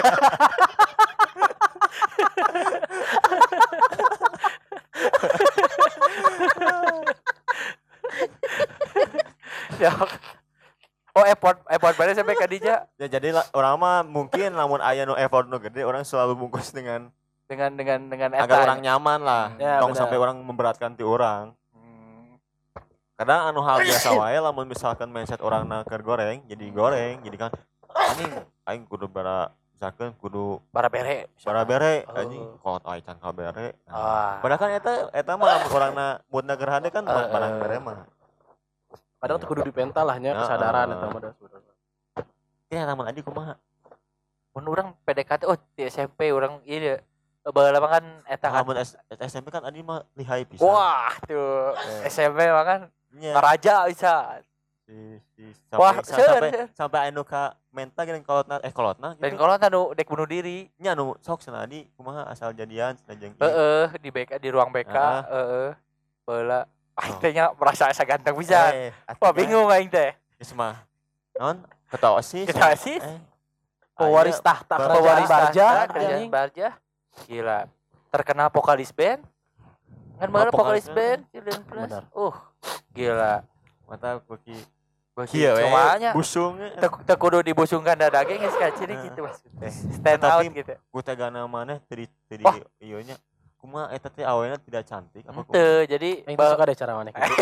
Ya. Oh effort mana sampai ke Dija? Ya jadi orang mah mungkin namun aya nu effort nu gede orang selalu bungkus dengan agar orang nyaman lah. Ya, tong sampai orang memberatkan ti orang. Kadang anu hal biasa wae lamun misalkan mindset orang keur goreng jadi kan anjing aing kudu bara misalkan kudu Barabere. barabere Oh. anjing kolot aya can kabere. Ah. Padahal kan eta mah lamun urangna moodna gerhade kan barabere mah. Kadang tuh kudu dipental lah nya kesadaran eta mah sebenarnya. Ya namun adi kumaha? Mun urang PDKT di SMP urang ieu baheula mah kan eta kan. Lamun SMP kan adi mah lihai pisan. Wah, tuh SMP mah kan Nya. ngaraja bisa. Wah, seueur. sampai anu ka menta geuning kolotna Dan gitu. kalau anu dek bunuh diri, Nya anu sok cenah adi kumaha asal jadian cenah jeung di BK di ruang BK, baheula teh nya merasa asa ganteng pisan. Wah, bingung aing teh. Geus mah. Naon? Ketua OSIS. Ketua OSIS. Pewaris tahta Pewaris Barja, kerajaan Barja. Gila. Terkenal vokalis band. Kan baheula vokalis band, Children Plus. Benar. Gila. Mata kuki Kieu we. Cumanya busung. teu kudu dibusungkan dada ge geus kaciri gitu maksudnya. Stand out Tapi gitu. Ku teh gana maneh teu di Wah. ieu nya. Kumaha eta teh awalnya tidak cantik apa kumaha? Henteu, jadi Aing teh suka deh cara maneh gitu.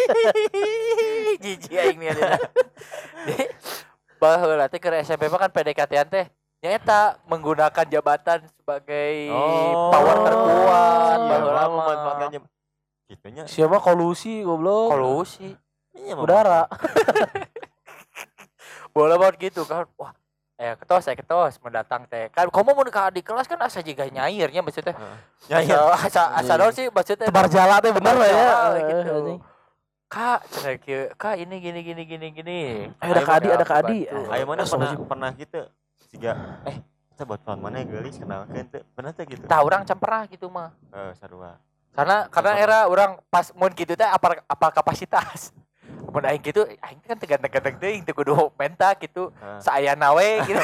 jijik aing nih ada. Baheula teh ke SMP mah kan PDKT-an teh nyata menggunakan jabatan sebagai power terkuat baheula mah memanfaatkan gitunya. Siapa kolusi goblok. kolusi. Iya, Udara. Bola banget gitu kan. Wah, ketos mendatang teh. Kan komo mun ka di kelas kan asa jiga nyairnya maksudnya. Nyair. Asa naon sih maksudnya. Tebar jala teh bener lah ya. Gitu. Kak, cenah kieu, Kak ini gini. Ada Kak Adi. Ayo mana pernah gitu. Siga kita buat teman mana geulis kenalkeun teh. Pernah teh gitu. Tah urang can pernah gitu mah. Sarua. Karena era orang pas mun gitu teh apa kapasitas. Mun aing gitu, aing kan tegak-tegak teuing teu kudu menta gitu. Saayana we gitu.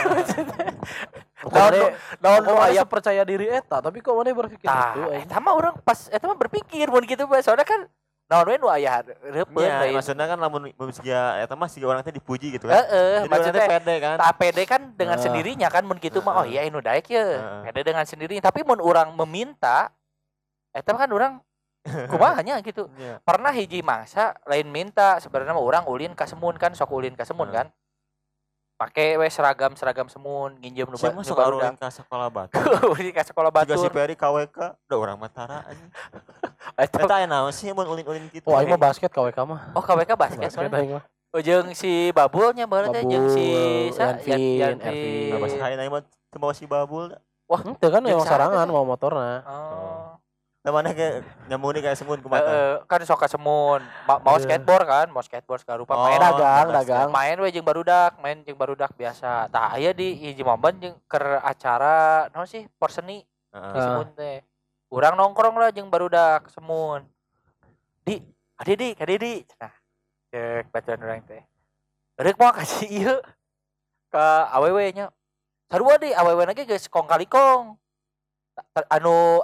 Naon aya percaya diri eta, tapi kok maneh berpikir Tah, gitu. eta mah urang pas eta mah berpikir mun gitu bae. Soalnya kan naon we nu aya reupeun Ya, deui. maksudnya kan lamun siga eta mah siga urang teh dipuji gitu kan. Heeh, maksudnya pede kan. tak pede kan dengan sendirinya kan mun gitu mah oh iya anu daek ye. Pede dengan sendirinya, tapi mun urang meminta eta kan urang kumahanya gitu. Iya. Pernah hiji mangsa lain minta sebenarnya mah urang ulin ka Semun kan, sok ulin ka Semun kan. Make we seragam semun nginjem nu Siapa masuk ulin ka sekolah batu. ulin ka sekolah Juga si batur. Peri KWK udah orang Matara anjing. Eta Eta aya naon sih mun ulin-ulin gitu. Wah, aing mah basket KWK mah. oh KWK basket Basket soalnya. aing mah. Jeung si Babulnya baheula teh jeung si Yanvin, Nah, bahasa hain aing mah teu bawa si Babul. Wah, henteu kan Jeung memang sarangan saha mau motorna. Oh. Da maneh ge nyamuni kayak semun kumaha. Kan sok ka Semun. Mau skateboard kan, mau skateboard segala rupa main dagang. main we jeung barudak biasa. Tah aya di hiji momen jeung keur acara naon sih porseni di Semun teh. Urang nongkrong lah jeung barudak Semun. Adi cenah. Cek bacaan urang teh. Rek mau kasih ieu ka awewe nya. Sarua deui awewe na ge geus kong kali kong. Anu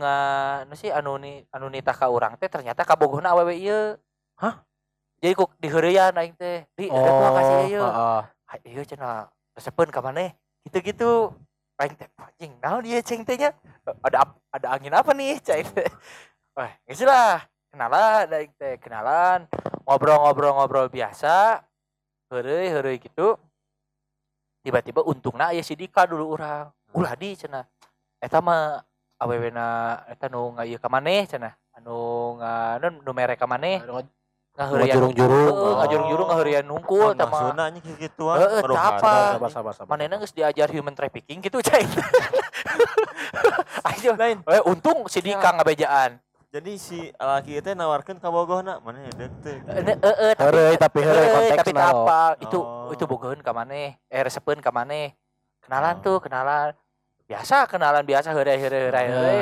nitah ka urang teh ternyata kabogohna awewe ieu. Hah? Jadi kok diheureyan aing teh. Di rek mau kasih ieu. Heeh. Ieu cenah resepeun ka maneh. Gitu-gitu. Aing teh anjing naon ieu ceng teh nya? Ada angin apa nih ceng teh. Wah, geus lah. Kenalan. Ngobrol biasa. Heureuy gitu. Tiba-tiba untungna aya si Dika dulu urang. Ulah di cenah. Eta mah awewena eta nu ngaieu ka maneh cenah. Anu nu mere ka maneh. Ngaheureuyan ngajurung-jurung ngaheureuyan nungkul tah mah. Maksudna anjing kituan. Heeh, apa? Sabar. Manehna geus diajar human trafficking gitu cai. Ayo lain. Untung si Dika ngabejaan. Jadi si laki itu nawarkeun ka bogohna, maneh deuk teh. Heureuy tapi konteksna. apa? Itu bogoheun ka maneh. Resepeun ka maneh. Kenalan. Kenalan biasa heureuy.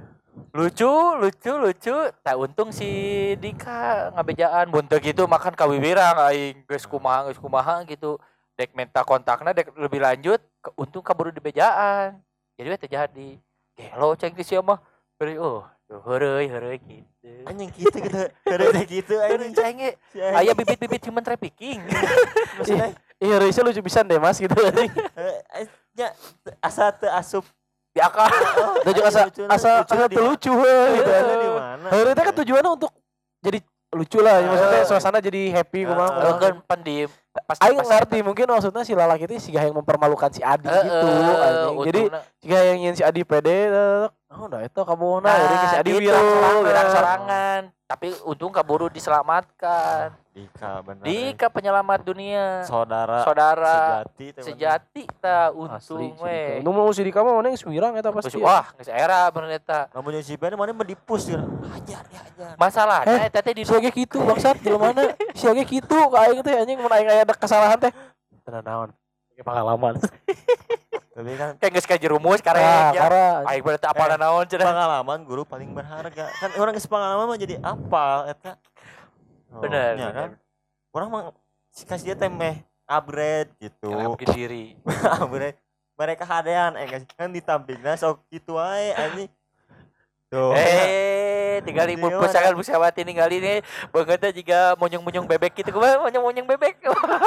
Lucu. Tak untung si Dika ngabejaan. Mun teu kitu makan kawiwirang aing geus kumaha gitu. Dek minta kontakna dek lebih lanjut, untung kaburu dibejaan. Jadi we teh jadi. Gelo ceng di sia mah. Heureuy gitu. Anjing gitu heureuy gitu anjing. Ceng ge aya bibit-bibit human trafficking. Maksudnya Iya, Reisa lucu pisan deh Mas gitu anjing. nya asa teu asup Di akal. Dan juga asa lucu gitu. di mana? Heureuy teh kan tujuannya untuk jadi lucu lah, maksudnya suasana jadi happy kumaha. Kan pan di pasti Aing ngerti mungkin maksudnya si lalaki itu siga yang mempermalukan si Adi gitu anjing. Jadi siga yang ingin si Adi pede udah itu kabona jadi si Adi wirang sorangan tapi untung kaburu diselamatkan. Dika bener. Dika penyelamat dunia. Saudara sejati ta untung we. Untung mau si Dika mah mana geus wirang eta pasti. Wah, geus era bener eta. Lamun si Bene mana mendipus ya. Hajar. Masalahnya eta teh di siage kitu bangsat jelema siage kitu ka aing teh anjing mun aing aya kesalahan teh. Tenan naon. Pengalaman. Tapi kan kayak geus kajerumus karek ya. Aing bener teh apalna naon cenah. Pengalaman guru paling berharga. Kan orang geus pengalaman mah jadi apal eta. Bener, ya kan? Orang mah kasih dia temeh upgrade gitu. Upgrade diri. Upgrade. Mereka hadean kan ditampilna sok kitu wae anjing. Tuh. Tinggal ibu pusakan busawati ninggali nih bangetnya juga monyong-monyong bebek gitu kumaha monyong-monyong bebek.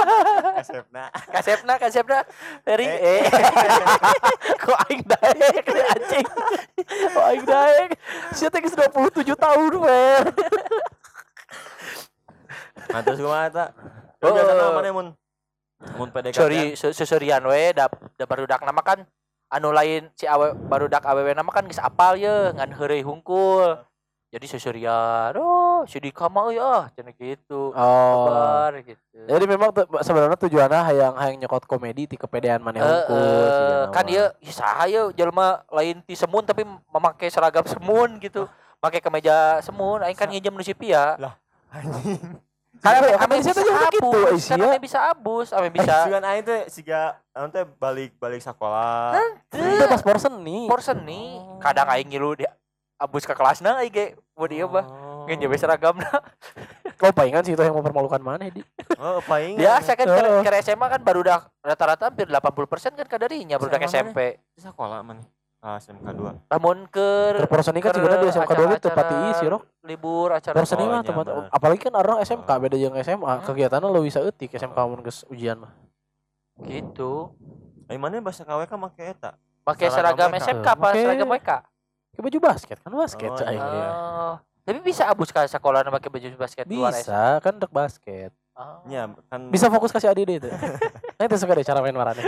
Kasepna. Eri kok aing daek anjing. Kok aing daek. Sia teh geus 27 tahun we. Nah terus kumaha eta? Biasana mana mun PDKT. Seserian we da barudak nama kan anu lain si barudak awewe nama kan geus apal ye ngan heureuy hungkul. Jadi seserian. Si Dika mah ya cenah gitu. Kabar gitu. Jadi memang sebenarnya tujuannya hayang nyokot komedi ti kepedean maneh hungkul. Kan ieu saha ye jelema lain ti semun tapi memakai seragam semun gitu. Make kemeja semun aing kan nginjem nu si Pia. Lah anjing. Karena ame bisa abus, karena bisa abus, ame bisa. Sugan aing teh siga anu teh balik sekolah. Itu pas porseni. Kadang aing ngilu dia abus ke kelasna aing ge buat ieu mah. Ngeun jebe seragamna. Kau palingan sih itu yang mempermalukan maneh di. Oh, palingan. Ya, saya kan ke SMA kan barudak rata-rata hampir 80% kan kadarinya barudak SMP. Sekolah mana? SMK 2. Lamun ke porseni kan juga di SMK 2 gitu pati isi rok. Libur acara porseni mah tempat apalagi kan orang SMK beda jeung SMA kegiatannya lebih bisa eutik SMK mun geus ujian mah gitu. Ai mana bahasa KWK make eta make seragam SMK apa seragam WK ke baju basket kan basket aing tapi bisa abus ka sekolah make baju basket luar bisa kan dek basket nya kan bisa fokus kasih ADD itu nah itu suka deh cara main marane.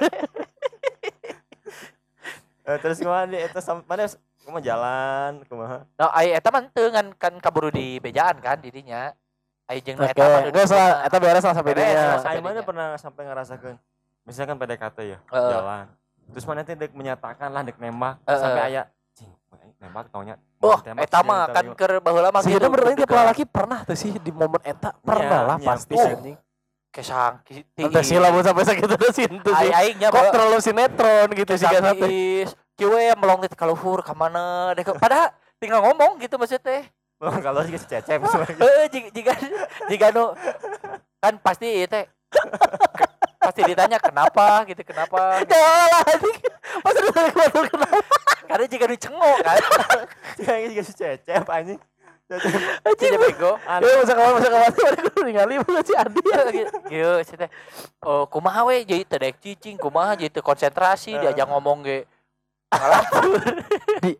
Terus kumaha di eta mana kumaha jalan kumaha. Nah, ai eta mah teu kan kaburu di bejaan kan didinya. Ai jeung eta mah geus lah eta beres lah sampai dinya. Ai mana pernah sampai ngarasakeun misalkan PDKT ya jalan. Terus mana teh dek menyatakan lah dek nembak sampai aya nembak taunya. Eta mah kan keur baheula mah gitu. Berarti tiap laki pernah tuh sih di momen eta pernah lah pasti anjing. Kesang tinggi. Sila mun sampai sakitu teh sintu sih. Aingnya kok terlalu sinetron gitu sih kan teh. Kieu melong teh ka luhur ka mana deh. Padahal tinggal ngomong gitu maksud teh. Kalau sih cecep. Jika nu kan pasti teh pasti ditanya kenapa gitu kenapa. Lah anjing. Pasti ditanya kenapa. Karena jika nu cengok kan. Jika si cecep anjing. Anjing bego. Masa kawan aku ningali bukan si Adi. Kieu si teh. Oh, kumaha we jadi teh daek cicing, kumaha jadi teh konsentrasi diajak ngomong ge. Ngalatur. Di.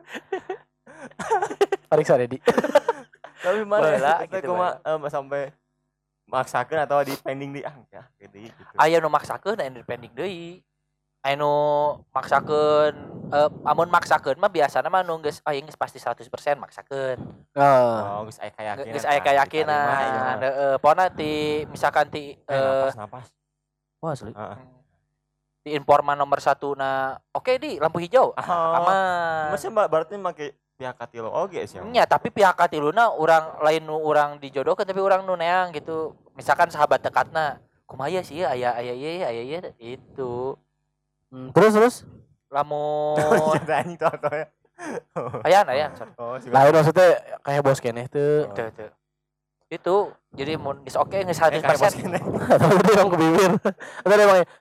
Pariksa Dedi. Tapi mana kita kumaha sampai maksakeun atau di pending di ya gitu. Aya nu maksakeun aya nu pending deui. Anu maksakeun amun maksakeun mah biasana mah nu geus geus pasti 100% maksakeun. Oh, geus aya kayakinan. Geus aya kayakinan. Pona ti misalkan ti napas. Wah, asli. Di informan nomor 1 na oke di lampu hijau. Aman. Masih berarti make pihak katilu oge sih. Nya, tapi pihak katiluna urang lain nu urang dijodohkeun tapi urang nu neang gitu. Misalkan sahabat dekatna. Kumaha sih aya ieu itu. Terus lamun anjing tau ya. Ayan. Lain maksudnya kayak bos keneh teu. Teu. Itu jadi mun geus oke geus 100%. Tapi dia yang ke bibir. Atau dia emang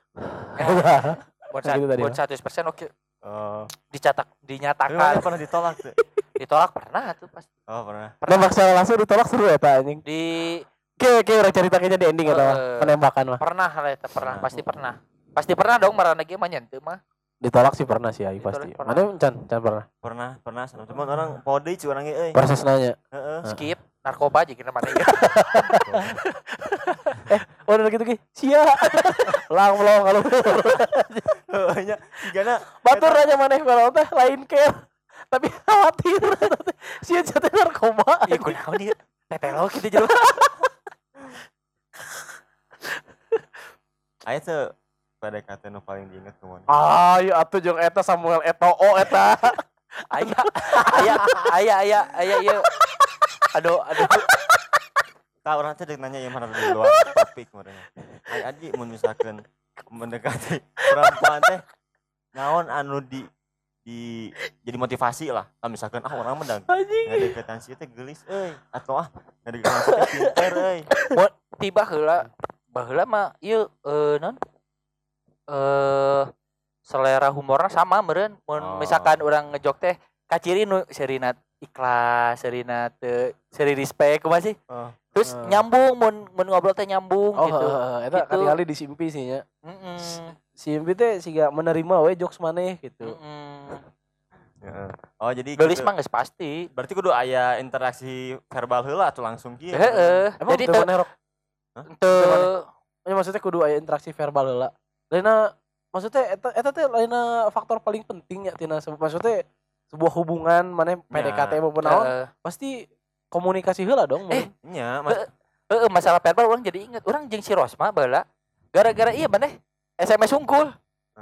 buat 100% oke. Dinyatakan. Pernah ditolak tuh. Ditolak pernah tuh pasti. Oh, pernah. Nembak secara langsung ditolak seru eta anjing. Kayak orang cerita kayaknya di ending atau penembakan mah. Pernah pasti pernah. Pasti pernah dong marana ge mah nyentuh mah. Ditolak sih pernah sih ai pasti. Mana Can pernah. Pernah. Cuman orang pode cu urang ge euy. Proses nanya. Skip. narkoba aja kira mana ya. Oh udah gitu sia lang melong kalau Heuhnya sigana batur aja maneh kalau teh lain care tapi khawatir sia teh narkoba. Iya kunaon ieu? Tetelo gitu jeung. aya teu PDKT nu paling diinget kumaha? Ayo atuh jeung eta Samuel Eto'o eta. Aya ieu. Aduh. Tah urang teh deuk nanya ieu mah di luar topik meureun. Ai Aji mun misalkan mendekati perempuan teh naon anu di jadi motivasi lah. Misalkan orang mendang ngadeukeutan si teh geulis euy atau ngadeukeutan si teh pinter euy. Tiba baheula mah ieu non selera humorna sama meureun. Mun misalkan urang ngejok teh kaciri nu serina ikhlas, serina teu seri respect kumaha sih? Terus nyambung mun ngobrol teh nyambung gitu. Eta gitu. kali disimpi sih nya. Simpi teh siga menerima we jokes maneh gitu. Heeh. Oh jadi Geulis mah geus pasti. berarti kudu aya interaksi verbal heula atuh langsung kieu. Heeh. Emang Jadi teu maneh rok. teu Ya maksudnya kudu aya interaksi verbal heula. Lainna maksudnya eta teh lainna faktor paling penting ya tina maksudnya sebuah hubungan maneh PDKT maupun naon pasti komunikasi heula dong. Nya masalah verbal orang jadi inget orang jeung si Rosma baheula gara-gara iya maneh SMS unggul.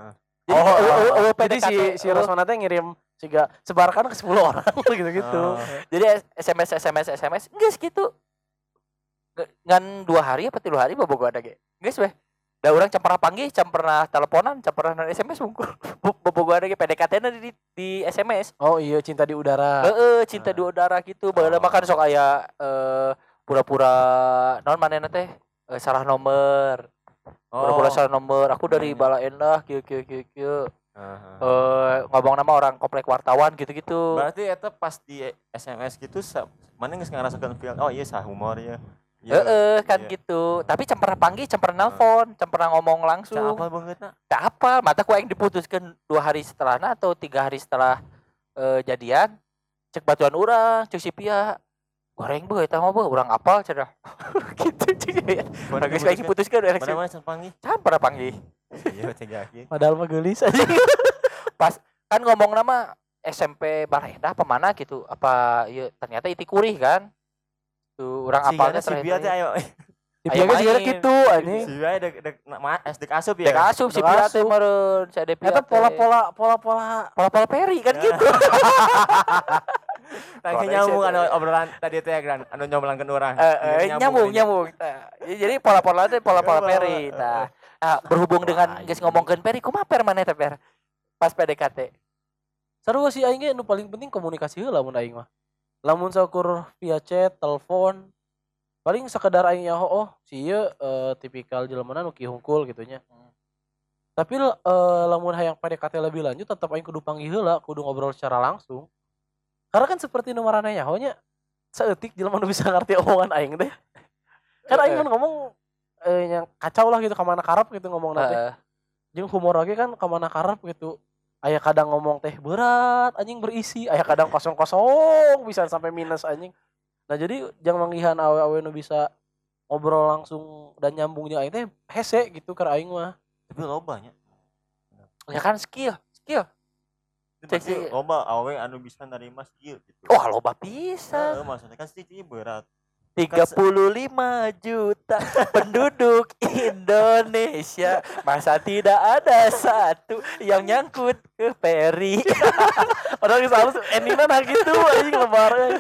Jadi si Rosmana teh ngirim siga sebarkan ke 10 orang gitu-gitu. Jadi SMS geus gitu. Ngan 2 hari apa 3 hari bobogoh ada ge. Geus weh. Da urang can pernah panggih, can pernah teleponan, can pernah SMS unggul. Bobogoh ada ge PDKT-na di SMS. Oh iya cinta di udara. Cinta di udara gitu. Baheula makan sok aya pura-pura naon manehna teh salah nomor. Pura-pura salah nomor. Aku dari Bala Endah kieu. Ngomong nama orang komplek wartawan gitu-gitu. Berarti eta pas di SMS gitu mana geus ngarasakeun feel oh iya sah humor ya. Kan gitu. Tapi can pernah panggih, can pernah nelpon, can pernah ngomong langsung. Ca apal beungeutna? Teu apal, mata ku aing diputuskeun 2 hari setelahna atau 3 hari setelah jadian. Cek batuan urang, cek si Pia. Goreng beuh eta mah beuh urang apal cenah. Gitu cek ya. Geus aing diputuskeun Mana can panggih? Can pernah panggih. Iya teh yakin. Padahal mah geulis aja. Pas kan ngomong nama SMP Barenda apa mana gitu. Apa ieu ternyata Iti Kurih kan. Tuh urang apalnya si Bia teh ayo. Si Pia geus juga kitu anjing. Si Bia dek SD asup ya. Dek asup si Pia teh meureun, si Ade Pia. Eta pola-pola peri kan gitu. Tangke nyambung anu obrolan tadi teh Gran anu nyomblangkeun urang. Nyambung. Jadi pola-pola teh pola-pola peri. Nah, berhubung dengan geus ngomongkeun peri, kumaha per maneh teh per? Pas PDKT. Seru sih aing ge nu paling penting komunikasi heula mun aing mah. Lamun sakur via chat, telepon, paling sekedar aing nyaho si ieu tipikal jelemana nu kieu hungkul gitu nya. Tapi lamun hayang PDKT lebih lanjut tetap aing kudu panggih heula, kudu ngobrol secara langsung. Karena kan seperti nu marana nyaho nya saeutik jelema nu bisa ngarti omongan aing teh. Kan aing mun ngomong yang kacau lah gitu ka mana karep gitu ngomong nanti. Jeung humor lagi kan ka mana karep gitu. Aya kadang ngomong teh berat anjing berisi, aya kadang kosong bisa sampai minus anjing. Nah jadi jangan manggihan awe-awe nu bisa ngobrol langsung dan nyambungnya aing teh hese gitu keur aing mah. Tapi loba nya. Ya kan skill. Pasti loba awe anu bisa narima skill gitu. Wah, loba pisan. Maksudnya kan sedikit berat. 35 juta penduduk Indonesia, masa tidak ada satu yang nyangkut ke peri. Padahal geus halus endingna nah gitu anjing lebaran.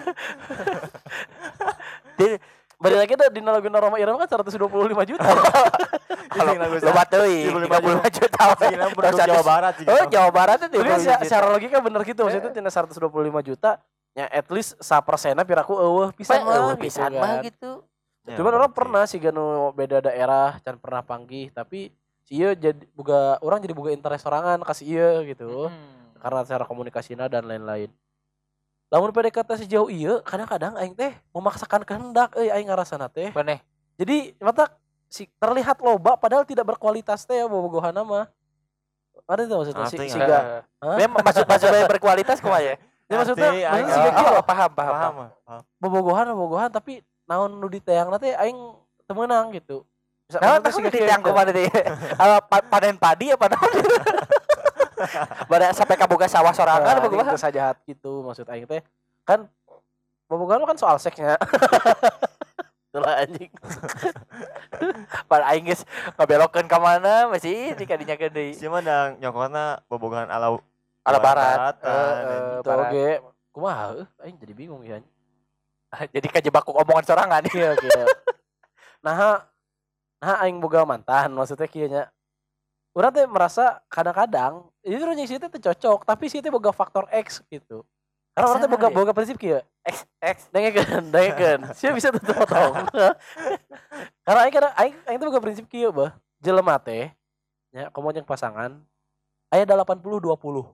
Balik lagi dah di lagu Roma Irama kan 125 juta. Loba teuing 35 juta. Jawa Barat juga. Oh, Jawa Barat itu. Secara logika bener gitu maksudnya tina 125 juta ya at least 1% piraku eueuh pisan mah gitu. Cuman orang pernah sih ganu beda daerah can pernah panggih tapi si ieu jadi orang jadi boga interest sorangan ka si ieu gitu. Karena cara komunikasinya dan lain-lain. Lamun PDKT sejauh ieu kadang-kadang aing teh memaksakan kehendak aing ngarasana teh. Maneh. Jadi mata si terlihat loba padahal tidak berkualitas teh ya bobogohana mah. Ada itu maksudnya siga. Memang maksud berkualitas kumaha ya? Ya maksudnya Aing siga kieu paham. bobogohan tapi naon nu diteangna teh aing teu meunang gitu. Naon siga diteang kumaha teh? Panen padi apa naon? Bada sampai kaboga sawah sorangan apa kumaha? Teu sajahat gitu maksud aing teh. Kan bobogohan kan soal seksnya. Itulah anjing. Pada aing geus ngabelokeun ka mana masih di kadinya deui. Si mah dang nyokotna bobogohan ala barat. Itu oge kumaha aing jadi bingung ya. Jadi kajebak omongan sorangan. Iya. Nah aing boga mantan maksudnya kieu nya. Urang teh merasa kadang-kadang justru nya si teh cocok tapi si teh boga faktor X gitu. Karena orang teh boga prinsip kieu. X Dengekeun. Sia bisa tuh potong. Karena aing teh boga prinsip kieu beuh. Jelema teh nya komo jeung pasangan aya 80-20.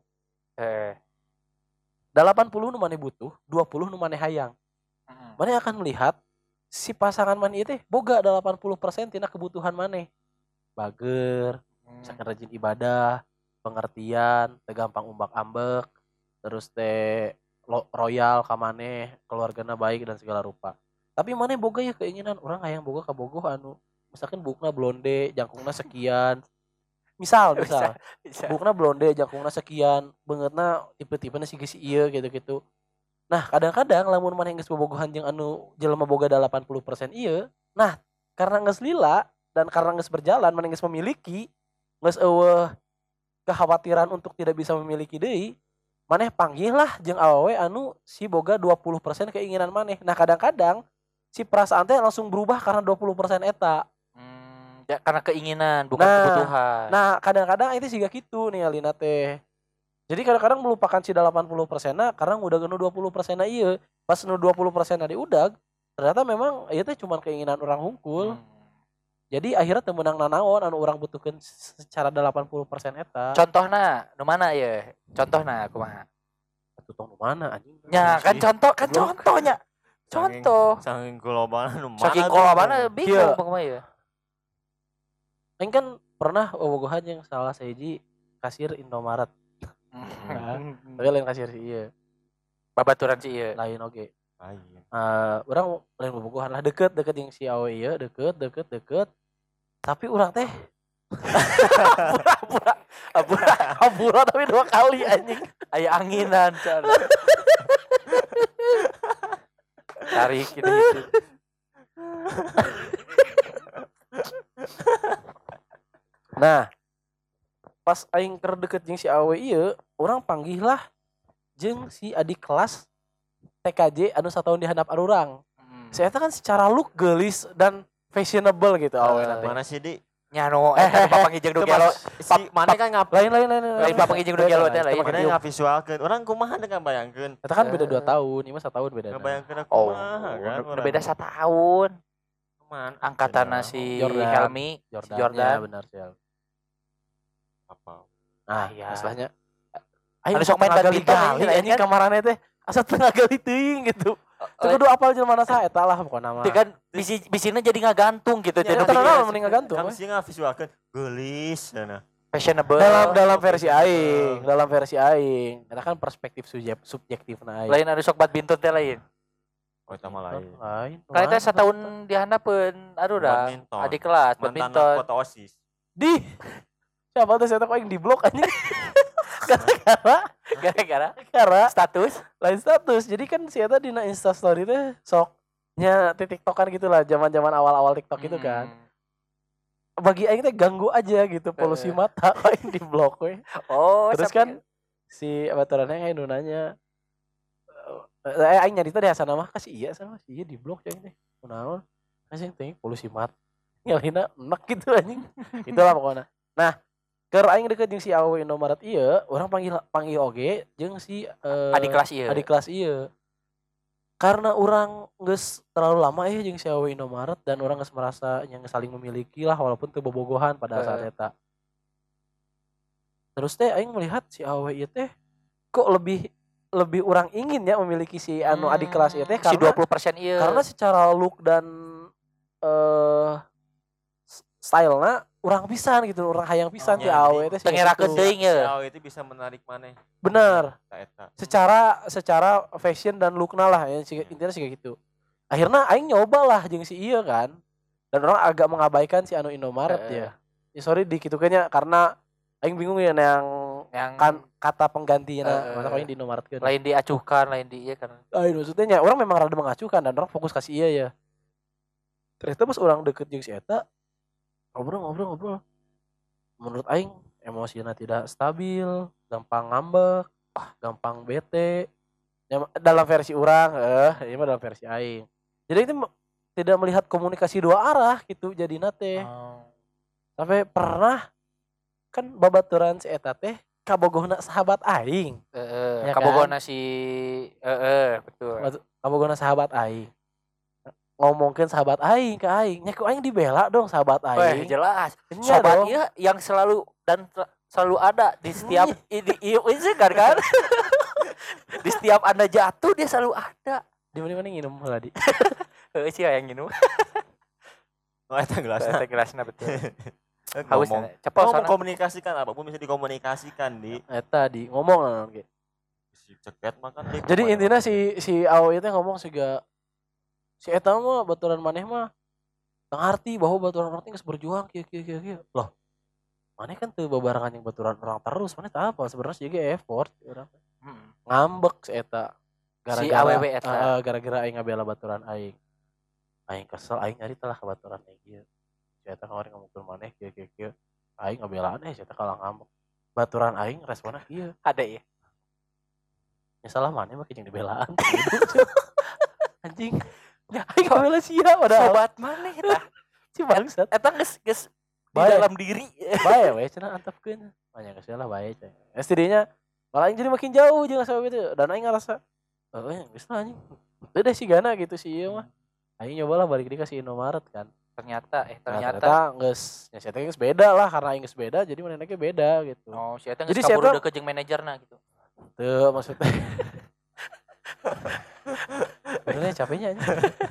80 nu maneh butuh, 20 nu maneh hayang. Maneh akan melihat si pasangan maneh teh boga 80% tina kebutuhan maneh. Bager, misalkan rajin ibadah, pengertian, teu gampang umbak-ambek, terus teh royal ka maneh, keluargana baik dan segala rupa. Tapi maneh boga ya keinginan urang hayang boga kabogoh anu misalkan bukna blonde, jangkungna sekian. Misal bukna blonde, jangkungna sekian, beungeutna tipe-tipena si ieu gitu-gitu. Nah, kadang-kadang lamun maneh geus bobogohan jeung anu jelema boga 80% ieu, nah karena geus lila dan karena geus berjalan maneh geus memiliki, geus eueuh kekhawatiran untuk tidak bisa memiliki deui, maneh panggihlah jeung awewe anu si boga 20% keinginan maneh. Nah, kadang-kadang si perasaan teh langsung berubah karena 20% eta. Ya, karena keinginan bukan kebutuhan. Nah, kadang-kadang itu siga kitu nih alina teh. Jadi kadang-kadang melupakan si 80%-na karena udah genu 20%-na ieu. Pas nu 20%-na diudag, ternyata memang ieu teh cuma keinginan orang hungkul. Jadi akhirnya teu meunang nanaon anu urang butuhkeun secara 80% eta. Contohna nu mana ieu? Contohna kumaha? Contoh nu mana anjing? Ya, kan contohnya. Contoh. Saking global nu mana? Saking global bingung kumaha ieu. Aing kan pernah bobogohan yang salah sahiji kasir Indomaret. Tapi lain kasir si ieu. Babaturan si ieu. Lain oge. Lain. Urang lain bobogohan lah deket jeung si awe ieu, deket. Tapi urang teh pura tapi 2 kali anjing. Aya anginan cara. Tarik gitu. Nah, pas aing keur deket jeung si awe ieu, urang panggihlah jeung si adik kelas TKJ anu 1 tahun di handap arurang. Saya kan secara look geulis dan fashionable gitu awe nanti. Mana sih di? Nyano bapak ngijeng do gelo. Si mana kan Lain bapak ngijeng do gelo teh lain. Mana ngavisualkeun. Urang kumaha dengan bayangkeun. Eta kan beda 2 tahun, ieu mah 1 tahun beda. Bayangkeun kumaha kan. Beda 1 tahun. Cuman Angkatan si Jordan. Helmi, Jordan. Benar sih. Apa? Nah, iya. masalahnya Anu sok main badminton anjing kamarana teh asa tengah gali teuing gitu. Teu kudu apal jelema sa eta lah pokona mah. Teu kan bisina jadi ngagantung gitu teh. Eta naon mending ngagantung. Kan sih ngavisualkeun geulis cenah. Fashionable. Dalam versi aing. Eta kan perspektif subjektifna aing. Lain anu sok badminton teh lain. Oh, eta mah lain. Kan eta 1 tahun dihandapeun aduh adik kelas badminton. Mantan kota OSIS. Di siapa tuh saya tahu yang di blok anjing. Gara-gara status lain status. Jadi kan si eta dina Insta story teh soknya TikTokan gitulah, zaman-zaman awal-awal TikTok itu kan. Bagi aing teh ganggu aja gitu polusi mata aing di blok we. Oh, terus kan si baturannya kayak nunanya aing nyari teh asa mah kasih iya sama si iya di blok aing teh. Kunaon? Kasih teh polusi mata. Nyalina enak gitu anjing. Itulah pokoknya. Nah, keur aing deket jeung si awewe Indomaret ieu, urang panggil oge jeung si adik kelas ieu. Karena urang geus terlalu lama jeung si awewe Indomaret dan urang geus merasa yang saling memiliki lah walaupun teu bobogohan pada saat eta. Terus teh aing melihat si awewe ieu teh kok lebih urang ingin ya memiliki si anu adik kelas ieu teh karena si 20% ieu. Karena secara look dan stylena urang pisan gitu, urang hayang pisan ti iya, awe teh. Tengerakeun teuing Si ya. Awe itu bisa menarik maneh. Bener. Ka eta. Secara fashion dan lookna lah ya intinya sih kayak gitu. Akhirnya aing nyoba lah jeung si ieu kan. Dan orang agak mengabaikan si anu Indomaret ya. Ya sorry dikitukeunnya karena aing bingung ya yang kan kata penggantinya masa aing di Indomaretkeun. Lain diacuhkan, lain di ieu kan. Maksudnya orang memang rada mengacuhkan dan orang fokus kasih iya ya. Ternyata pas orang deket jeung si eta ngobrol. Menurut aing emosinya tidak stabil, gampang ngambek, gampang bete. Ya, dalam versi orang, ini mah dalam versi aing. Jadi itu tidak melihat komunikasi dua arah gitu jadi nate. Sampai pernah kan babaturan si eta teh kabogohna sahabat aing. Ya Kabogona si betul. Kabogohna sahabat aing. Ngomongin sahabat aing ke aing, nya ku aing dibela dong sahabat aing. Jelas. Nya dong. Sobatnya yang selalu ada di setiap ini kan. Di setiap Anda jatuh dia selalu ada. Di mana nginum tadi. Heeh sih yang nginu. Oh eta gelasna. Eta gelasna betul. Haus Cepet soalnya mengkomunikasikan apapun bisa dikomunikasikan di Eta di ngomong lah ge. si ceket makan di. Jadi intinya si Awe itu ngomong siga si eta mah baturan maneh mah ngarti bahwa baturan orang geus berjuang kieu. Loh. Maneh kan teu babarengan yang baturan orang terus, maneh teu apa sebenarnya sih effort urang. Ngambek si eta. Si AWW eta. Gara-gara aing ngabela baturan aing. Aing kesel aing nyari telah ke baturan aing ieu. Si eta kemarin ngomongkeun maneh kieu. Aing ngabelaan si eta kalah ngambek. Baturan aing responnya kieu. Ada ya. Ya salah maneh mah jeung dibelaan. Anjing. Ya aing ngabela sia padahal Sobat maneh tah. si bangsat. Eta geus di Bae. dalam diri. Bae we cenah antepkeun. Banyak geus lah bae cenah. STD-nya malah aing jadi makin jauh jeung sahabat itu dan aing ngerasa geus lah anjing. Teu deh si gana gitu si ieu mah. Aing nyobalah balik deui ka si Indomaret kan. Ternyata geus nya si eta geus beda lah karena aing geus beda jadi manehna ge beda gitu. oh si eta Jadi geus kaburu si eta- deket jeung manajerna gitu. Teu maksudnya. Benernya capeknya anjing.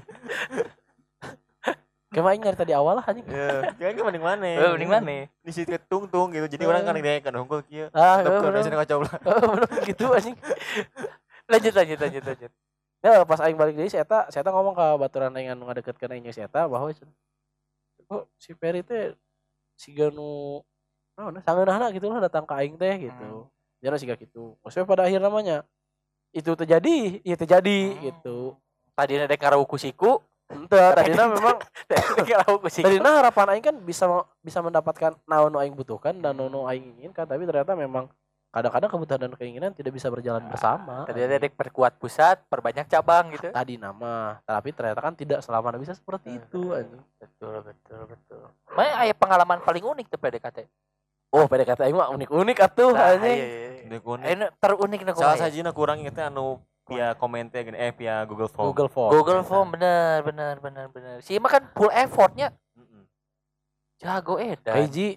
Kayak aing nyari tadi awal lah anjing. Ya, kan ke mending maneh. Mending maneh. Di situ tungtung gitu. Jadi orang kan dia kan hungkul kieu. Bener. Tepkeun sini ngacoblah. Bener gitu anjing. Lanjut. Ya pas aing balik deui si eta ngomong ka baturan aing anu ngadeketkeun aing jeung si eta bahwa kok si Peri teh siga nu naon sangeunahna gitu lah datang ka aing teh gitu. Jadi siga kitu. Maksudnya pada akhir namanya itu terjadi, ya terjadi gitu. Tadina dek ngarawuh siku, Henteu tadina memang dek ngarawuh siku. tadina harapan aing kan bisa mendapatkan naon nu aing butuhkan dan nu aing inginkan, tapi ternyata memang kadang-kadang kebutuhan dan keinginan tidak bisa berjalan bersama. Tadina dek perkuat pusat, perbanyak cabang gitu. Tadi nama, tapi ternyata kan tidak selamanya bisa seperti itu anjing. Betul. Mana aya pengalaman paling unik tuh PDKT? Oh, PDKT aing mah unik-unik atuh anjing. Ini terunik na Salah sajina kurang inget anu via komente gini via Google Form. Google Form bener. Si mah kan full effortnya. Jago edan. Hiji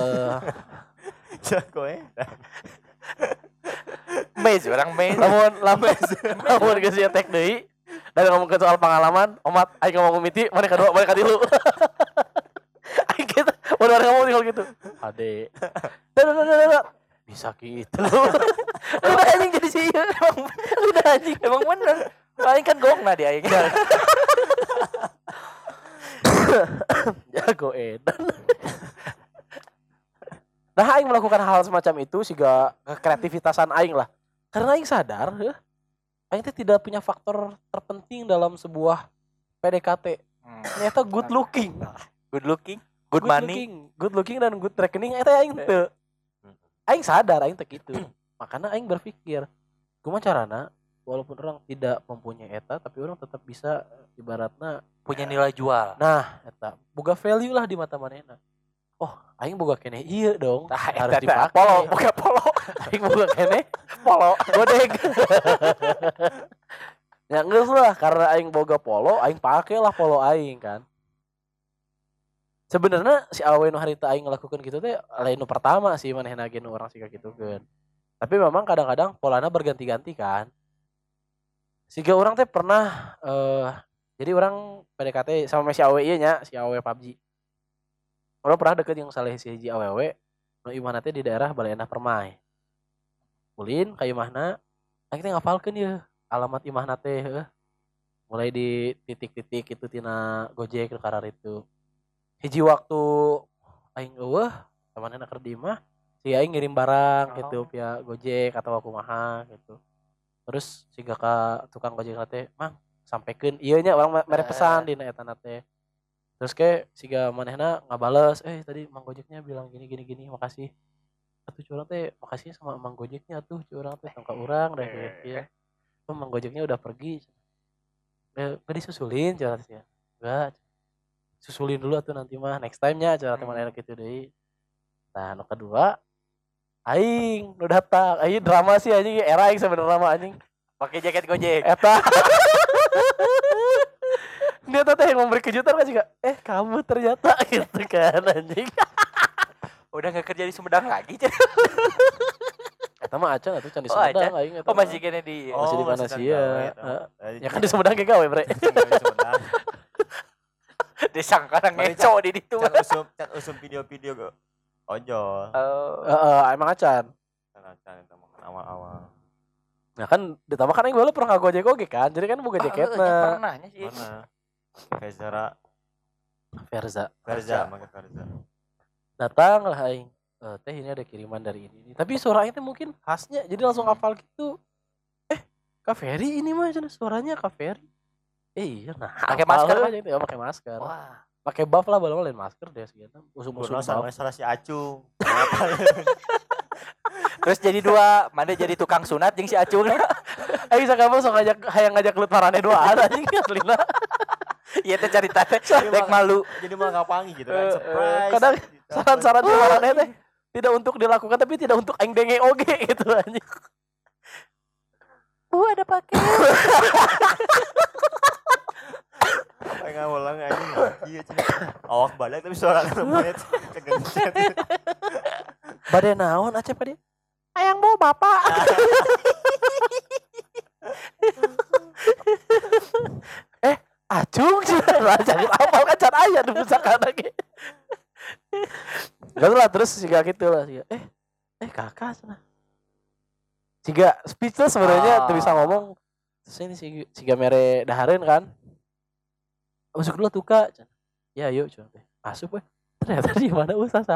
Jago Mez orang mez. lamun geus ieu tek deui dan ngomongkeun soal pengalaman, omat aing ngomong mimiti, mana kedua, mana katilu. Aing kita udah ngomong tinggal gitu. Ade. Bisa gitu. Udah anjing jadi sih emang udah anjing emang bener. Paling kan gongna dia aing. Jago edan. Nah aing melakukan hal semacam itu siga kreativitasan aing lah. Karena aing sadar aing teh tidak punya faktor terpenting dalam sebuah PDKT. Ternyata good looking, good money, good looking dan good rekening eta aing teu. Aing sadar aing teh kitu. Makanya aing berpikir, kumaha carana walaupun orang tidak mempunyai eta tapi orang tetap bisa ibaratna punya nilai jual. Nah, eta boga value lah di mata manehna. Oh, aing boga keneh ieu dong. Harus dipakai. Polo. Aing boga keneh polo godeg. Ya geus lah karena aing boga polo, aing pake lah polo aing kan. Sebenarnya si awe nu harita aing ngelakukeun kitu teh lain nu pertama sih manehna ge nu urang siga kitukeun. Tapi memang kadang-kadang polana berganti-ganti kan. Siga orang teh pernah jadi orang PDKT sama si awe ieu nya, si awe PUBG. Orang pernah deket yang saleh si hiji awewe nu imahna teh di daerah Baleendah Permai. Ulin ka imahna, aing teh ngapalkeun ye alamat imahna teh heuh. Mulai di titik-titik itu tina Gojek nu karar itu. Hiji waktu aing eueuh temanna keur di imah, si aing ngirim barang gitu via Gojek atau kumaha gitu. Terus siga ka tukang Gojek teh, "Mang, sampekeun ieu nya urang mere pesan dina eta teh." Terus kayak siga manehna ngabales, tadi Mang Gojeknya bilang gini gini gini, makasih. Atuh curang teh makasih sama Mang Gojeknya atuh curang teh tangka urang deh ya. Oh, Mang Gojeknya udah pergi. Enggak disusulin curang teh. Enggak. Susulin dulu atuh nanti mah next time-nya curang teh manehna kitu deui. Nah, nu kedua aing nu datang, aing drama sih anjing era aing sebenarnya mah anjing. Pakai jaket Gojek. Eta. Dia teh yang memberi kejutan kan juga. Kamu ternyata gitu kan anjing. Udah enggak kerja di Sumedang lagi. Eta mah acan atuh can di Sumedang aing eta. Masih kene di masih di mana sih ya? Ya kan di Sumedang ge gawe bre. Disangka ngeco di ditu. Can usum video-video go. Ojol. Emang acan. Acan eta mah awal-awal. Nah kan ditambah kan aing bae pernah ngagojek oge kan. Jadi kan boga jaketna. Pernahnya sih. Mana? Verza. Datang lah aing. Teh ini ada kiriman dari ini. Tapi suaranya itu mungkin khasnya. Jadi langsung hafal gitu. Kak Ferry ini mah suaranya Kak Ferry. Iya nah. Pakai masker kan? Ya pakai masker. Wah. Pakai buff lah balong lain masker deh segitu. Usum-usum sama salah si Acung. Terus jadi dua, mana jadi tukang sunat jeung si Acung. Aing sakabang sok ngajak lut marane doaan anjing aslina. Iya teh carita teh dek malu. Jadi malah ngapangi gitu kan surprise. Kadang saran-saran di marane teh tidak untuk dilakukan tapi tidak untuk aing denge oge gitu anjing. Ada pakai. Enggak ulang anjing lagi awak balik tapi suara lembut kegencet. Bade naon acep dia? Ayang bawa bapak. Acung lah jangan apal kan can aya di pusakana ge. Enggak lah terus siga gitu lah siga. Kakak cenah. Siga speechless sebenarnya tuh bisa ngomong. Terus ini siga mere dahareun kan. Masuk dulu tuh Kak. Ya yuk coba teh. Masuk we. Ternyata di mana usaha.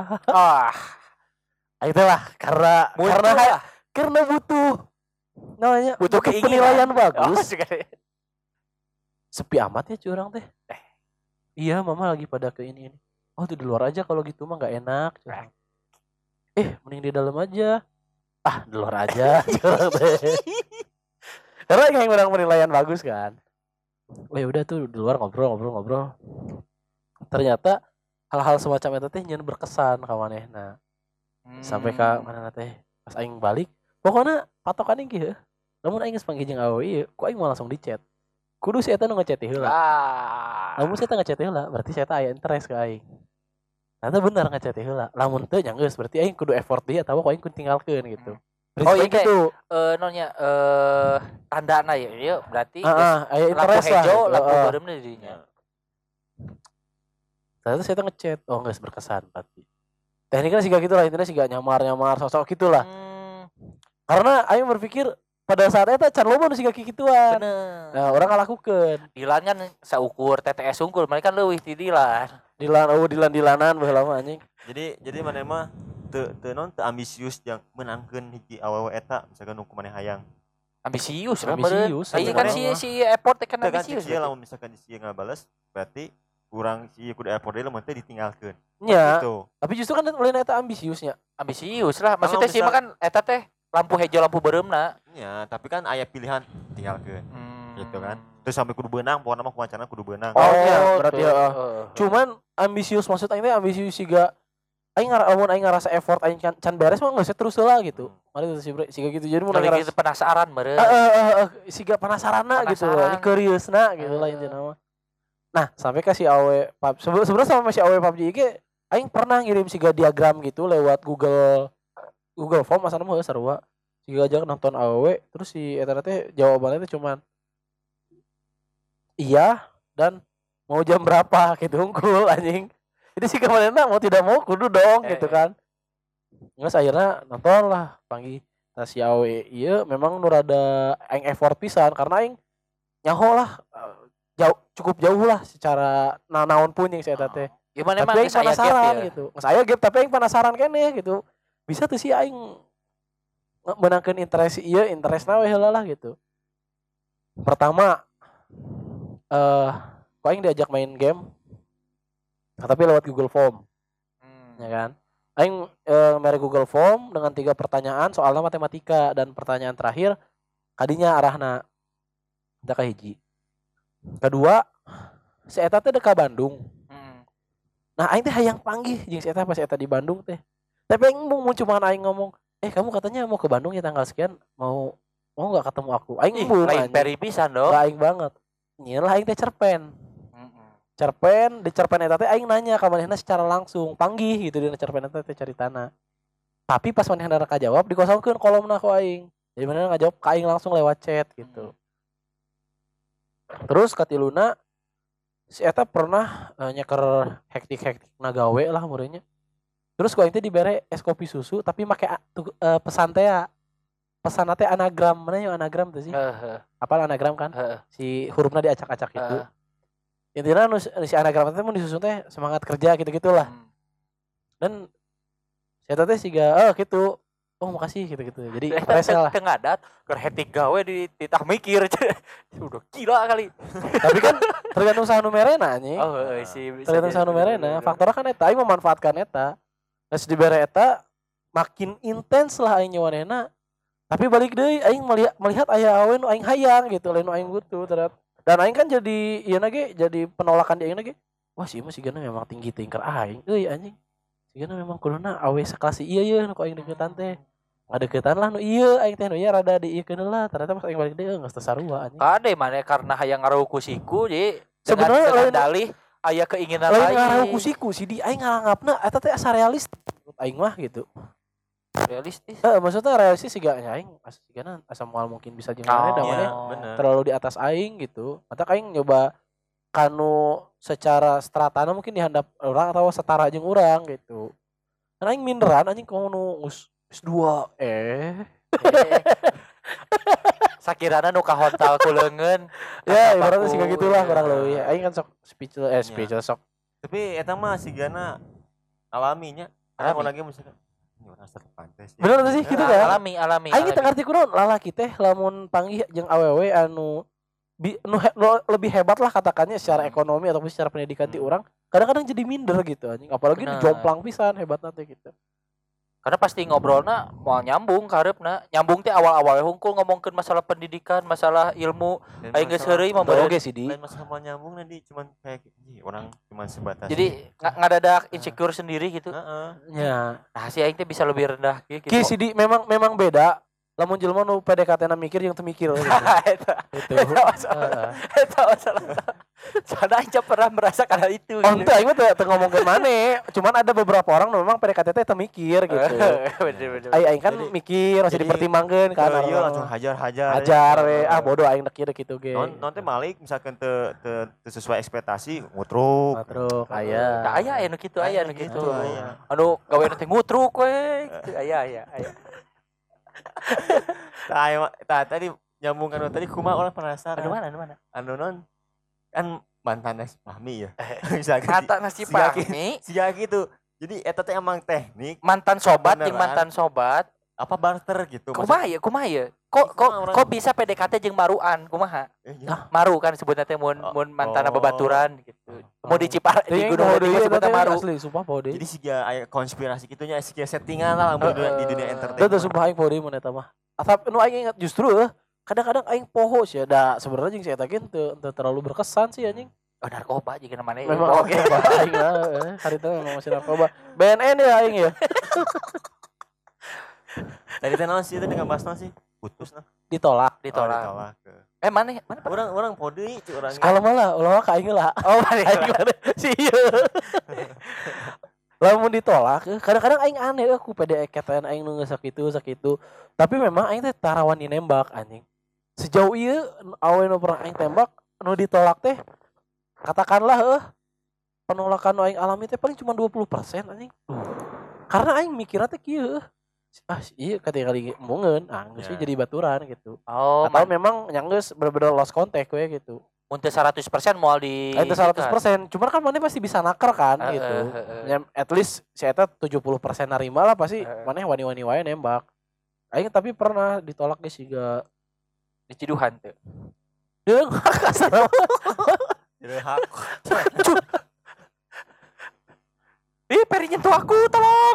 Itulah karena butuh namanya butuh penilaian bagus. Oh, Sepi amat ya curang teh. Iya mama lagi pada ke ini. Oh tuh di luar aja kalau gitu mah nggak enak. Curang. Mending di dalam aja. Di luar aja. Curang teh. Karena yang orang penilaian bagus kan. Udah tuh di luar ngobrol. Ternyata hal-hal semacam itu teh nyen berkesan ka manehna. Sampai ka mana teh pas aing balik, pokoknya patokan aing kieu. Lamun aing geus panggil jeung awewe ieu, ku aing mau langsung di chat. Kudu si eta nu ngechat heula. Lamun si eta ngechat heula, berarti si eta aya interest ka aing. Ternyata bener ngechat heula. Lamun teu nya geus berarti aing kudu effort dia atawa ku aing kudu tinggalkeun gitu. Oh iya gitu. Nonya tandana ya berarti aya interest lah. Lampu beureumna di dinya. Ternyata si eta ngechat, geus berkesan berarti. Tekniknya sih gitu lah, intinya sih nyamar sosok gitulah. Karena aing berpikir pada saat itu can loba nu siga kikituan. Bener. Nah, orang ngalakukeun. Dilan kan saukur TTS unggul, mereka kan leuwih ti Dilan. Dilanan baheula mah anjing. Jadi mana mah teu ambisius yang menangkeun hiji awewe eta misalkan nu kumaneh hayang. Ambisius. Iya kan si effort kan ambisius. Kan lamun misalkan si ngabales berarti kurang si kudu effort deui lamun teh ditinggalkeun. Nya. Tapi justru kan lain eta ambisiusnya. Ambisius lah. Maksudnya sih mah kan eta teh lampu hijau lampu beureumna. Ya, tapi kan aya pilihan tinggalkeun. Gitu kan. Terus sampai kudu beunang, pokona mah kumacanna kudu beunang. Berarti cuman ambisius maksud aing teh ambisius siga aing ngarasa effort aing can beres mah geus terus heula gitu. Mari siga gitu jadi mun ngarasa penasaran meureun. Siga penasaranna gitu loh, curiousna gitu lah intina mah. Nah, sampai ke si awe sebenarnya sama si awe PUBG ge aing pernah ngirim siga diagram gitu lewat Google Form asana mah sarua. Siga aja nonton awe terus si eta teh jawabannya teh cuman iya dan mau jam berapa gitu unggul anjing. Jadi si kemarinna mau tidak mau kudu dong gitu kan. Nges akhirnya nonton lah panggil si awe iya memang nu rada aing effort pisan karena aing nyaho lah cukup jauh lah secara naon pun yang saya teh. Gimana Tapi emang aing penasaran gitu. Saya gap tapi aing penasaran keneh gitu. Bisa tuh sih aing menangkeun interest ieu interestna we heula lah gitu. Pertama kok aing diajak main game tapi lewat Google Form. Ya kan? Aing mere Google Form dengan 3 pertanyaan soalnya matematika dan pertanyaan terakhir kadinya arahna da ka hiji. Kedua, si eta teh deka Bandung. Nah, aing teh hayang panggih jeung si eta pas eta di Bandung teh. Tapi aing mau cuman aing ngomong, kamu katanya mau ke Bandung ya tanggal sekian, mau enggak ketemu aku?" Aing lain peri pisan dong. Aing banget. Nyelah aing teh cerpen. Di cerpen eta teh aing nanya ka manehna secara langsung, panggih gitu dina cerpen eta teh caritana. Tapi pas manehna rek jawab dikosongkeun kolomna ku aing. Jadi manehna ngajawab ka aing langsung lewat chat gitu. Terus katiluna si eta pernah nyeker hektik nagawe lah murenya. Terus ku aing teh dibere es kopi susu tapi make pesan teh pesan teh anagram. Mana yang anagram tuh sih? Apal anagram kan? Si hurufna diacak-acak gitu. Intinya si anagram teh mun disusun teh semangat kerja gitu-gitulah. Dan si eta teh siga gitu. Oh makasih gitu-gitu. Jadi presa lah. Tengah ngadat keur hetik gawe ditah mikir. Udah gila kali. Tapi kan tergantung saha nu merena anjing. Tergantung saha nu merena. Faktornya kan eta aing memanfaatkan eta. Geus dibere eta makin intens lah aing nyawanena. Tapi balik deui aing melihat aya awe nu aing hayang gitu, lain nu aing butuh ternyata. Dan aing kan jadi ieu ge jadi penolakan di aing ge. Wah si mah sigana memang tinggi tingker aing euy anjing. Sigana memang kuduna awe sekelas ieu ye nu aing deketan teh. Ngadeukeutan lah nu ieu aing teh nu ieu rada diieukeun lah ternyata pas aing balik deui geus teu sarua anjing. Kade mane karena hayang ngaruh ku siku jadi sebenarnya dengan dalih aya keinginan lain lain. ngaruh ku siku si di aing nganggapna eta teh asa realistis aing mah gitu. Realistis. Maksudnya realistis sih gak aing sigana asa moal mungkin bisa jeung maneh da maneh terlalu di atas aing gitu. Mata aing nyoba kanu secara stratana mungkin dihandap orang atau setara jeung urang gitu. Kan aing minderan anjing komo nu S2 sakirana nu ka hotel ku leungeun. Ya ibaratnya sih kayak gitulah kurang leuwih. Aing kan sok speechless sok. Tapi eta mah sigana alaminya. Ada lagi misalkan ini orang asal pantes. Bener sih gitu kan? Alami. Aing teu ngarti kunaon lalaki teh lamun panggih jeung awewe anu lebih hebat lah katakannya secara ekonomi ataupun secara pendidikan ti urang, kadang-kadang jadi minder gitu anjing. Apalagi dijomplang pisan hebatna teh gitu. Karena pasti ngobrolna mau nyambung kareupna. Nyambung teh awal-awal hungkul ngomongkeun masalah pendidikan, masalah ilmu. Aing geus heureuy mah oge sih di. Lain masalah mau nyambung nanti cuman kayak orang cuman sebatas. Jadi ngadadak insecure sendiri gitu. Ya. Nah, si aing teh bisa lebih rendah gitu. Ki sih di memang beda. Lamun jelema nu PDKT-na mikir yang teu mikir gitu. Eta masalah. Soalnya aing pernah merasakan hal itu. Oh, ente aing mah teu ngomongkeun maneh. Cuman ada beberapa orang nu memang PDKT teh teu mikir gitu. Bener. Aing kan mikir masih dipertimbangkeun kan. Iya langsung hajar. Hajar we. Bodoh aing dek ieu kitu ge. Non teh malik misalkan teu sesuai ekspektasi ngutruk. Aya. Aya anu kitu aya anu kitu. Anu gawe teh ngutruk we. Aya. Tadi nyambung kan tadi kumaha orang penasaran. Anu mana? Anu non kan mantannya si Fahmi ya. Misalkan Mantan si Fahmi. Siga gitu. Jadi eta teh emang teknik mantan sobat jeung mantan sobat apa barter gitu. Kumaha ya? Kok bisa PDKT jeung maruan? Kumaha? Maru kan sebutna teh mun mantana babaturan gitu. Mau dicipar di gunung deui sebutna maru. Asli sumpah poe deui. Jadi siga aya konspirasi kitunya siga settingan lah di dunia entertainment. Teu sumpah aing poe deui mun eta mah. Asap nu aing ingat justru kadang-kadang aing poho sih da sebenarnya jeung si eta ge teu terlalu berkesan sih anjing. Narkoba juga namanya. Memang oke aing lah. Hari itu memang masih narkoba. BNN ya aing ya. Tadi teh naon sih dengan bahas naon sih? Putus nah. Ditolak. Mana? Orang pode itu orang. Kalau malah ulah ka aing lah. Oh, aing si ieu. Lamun ditolak, kadang-kadang aing aneh aku PDKT aing nu geus sakitu. Tapi memang aing teh tarawan nembak anjing. Sejauh ieu awe nu pernah aing tembak nu ditolak teh katakanlah penolakan nu aing alami teh paling cuma 20% anjing. Karena aing mikirnya teh kieu. Iya kali mungen, geus Ya. jadi baturan gitu. Oh, Atau memang yang geus bener-bener lost contact we gitu. untuk 100% moal di Itu 100%, cuman kan mana pasti bisa naker kan gitu. Ya, at least si eta 70% narima lah pasti mana wani-wani wae nembak. Aing tapi pernah ditolak geus siga di Ciduhan tuh. deung kasar. Direhak. Ih, Peri nyentuh aku, tolong.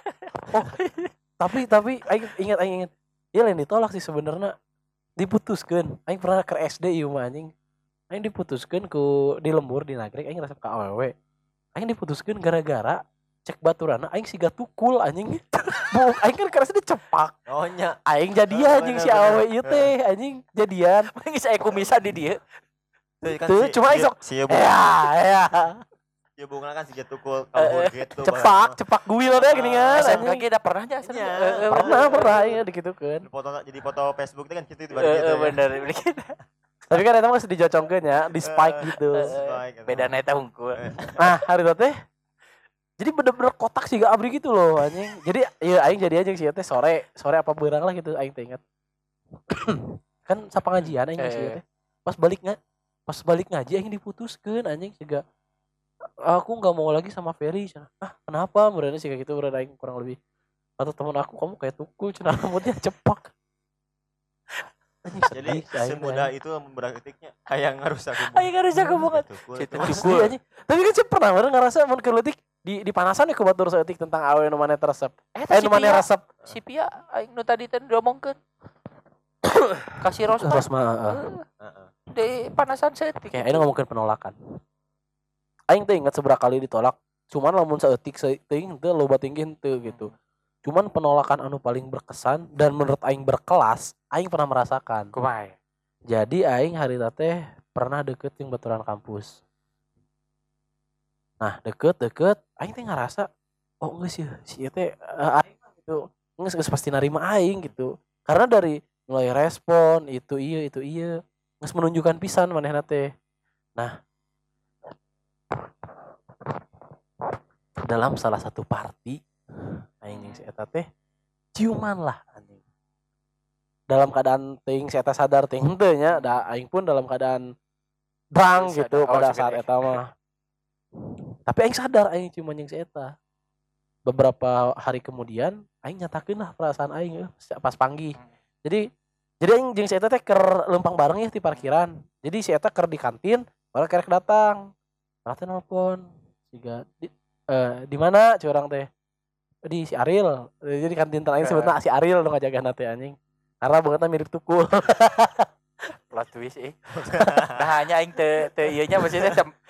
Tapi aing ingat. Iya lain ditolak sih sebenarnya. Diputuskeun. Aing pernah ke SD ieu mah anjing. Aing diputuskeun ku di lembur di Nagreg aing resep ka awewe. Aing diputuskeun gara-gara cek baturana aing siga tukul anjing. Bu, aing kan kerasa dicepak. Oh nya. Aing jadian anjing si awewe ieu teh anjing jadian. Geus aya kumisan di dieu. Tuh, cuma aing sok. Si Ya. Ya bunga kan si tukul kalau gitu. Cepak guil deh gini kan. SMK kita pernah aja Pernah ya digitukeun. Jadi foto Facebook itu kan gitu itu bener. Tapi kan eta mah geus dijocongkeun ya, di spike gitu. Beda eta hungkul. Nah, hari itu teh jadi bener-bener kotak sih gak abri gitu loh anjing. Jadi ya aing jadi aja sih teh sore apa beurang lah gitu aing teh ingat. Kan sapa ngajian aing sih teh. Pas balik ngaji aing diputuskeun anjing siga aku enggak mau lagi sama Ferry. Kenapa? Mereka sih kayak gitu berada aing kurang lebih. Atau teman aku kamu kayak tukul cenah rambutnya cepak. Jadi semudah itu memberaktiknya yang harus aku banget. Tukul anjing. Tapi kan saya pernah ngerasa mun keuletik di panasan ya ke batur saeutik tentang awe nu maneh resep. Nu maneh resep. Si Pia aing nu tadi teh diomongkeun. Kasih Rosma. Di panasan saeutik. Kayak aing ngomongkeun penolakan. Aing teh ingat seberapa kali ditolak. Cuman lamun saeutik teuing teu loba tinggi henteu gitu. Cuman penolakan anu paling berkesan dan menurut aing berkelas, aing pernah merasakan. Kumaha? Jadi aing harita teh pernah deket jeung baturan kampus. Nah, deket aing teh ngarasa geus ya si teh aing gitu. Geus pasti narima aing gitu. Karena dari mulai respon itu iya geus menunjukkan pisan manehna teh. Nah, dalam salah satu party aing si eta teh ciuman lah anjing. Dalam keadaan teuing si eta sadar teh henteu nya, da aing pun dalam keadaan drang gitu pada saat eta mah. Tapi aing sadar aing ciuman jeung si eta. Beberapa hari kemudian aing nyatakeun lah perasaan aing pas panggih. Jadi aing jeung si eta teh keur lempang bareng ya di parkiran. Jadi si eta keur di kantin, baru kerek datang. Baru teh nelpon. Siga di mana curang teh? Di si Ariel. Jadi kantin terakhir sebetulnya si Ariel nu ngajagahan teh anjing. Karena bangetna mirip tukul. Plot twist Nah hanya aing teu ieu nya maksudnya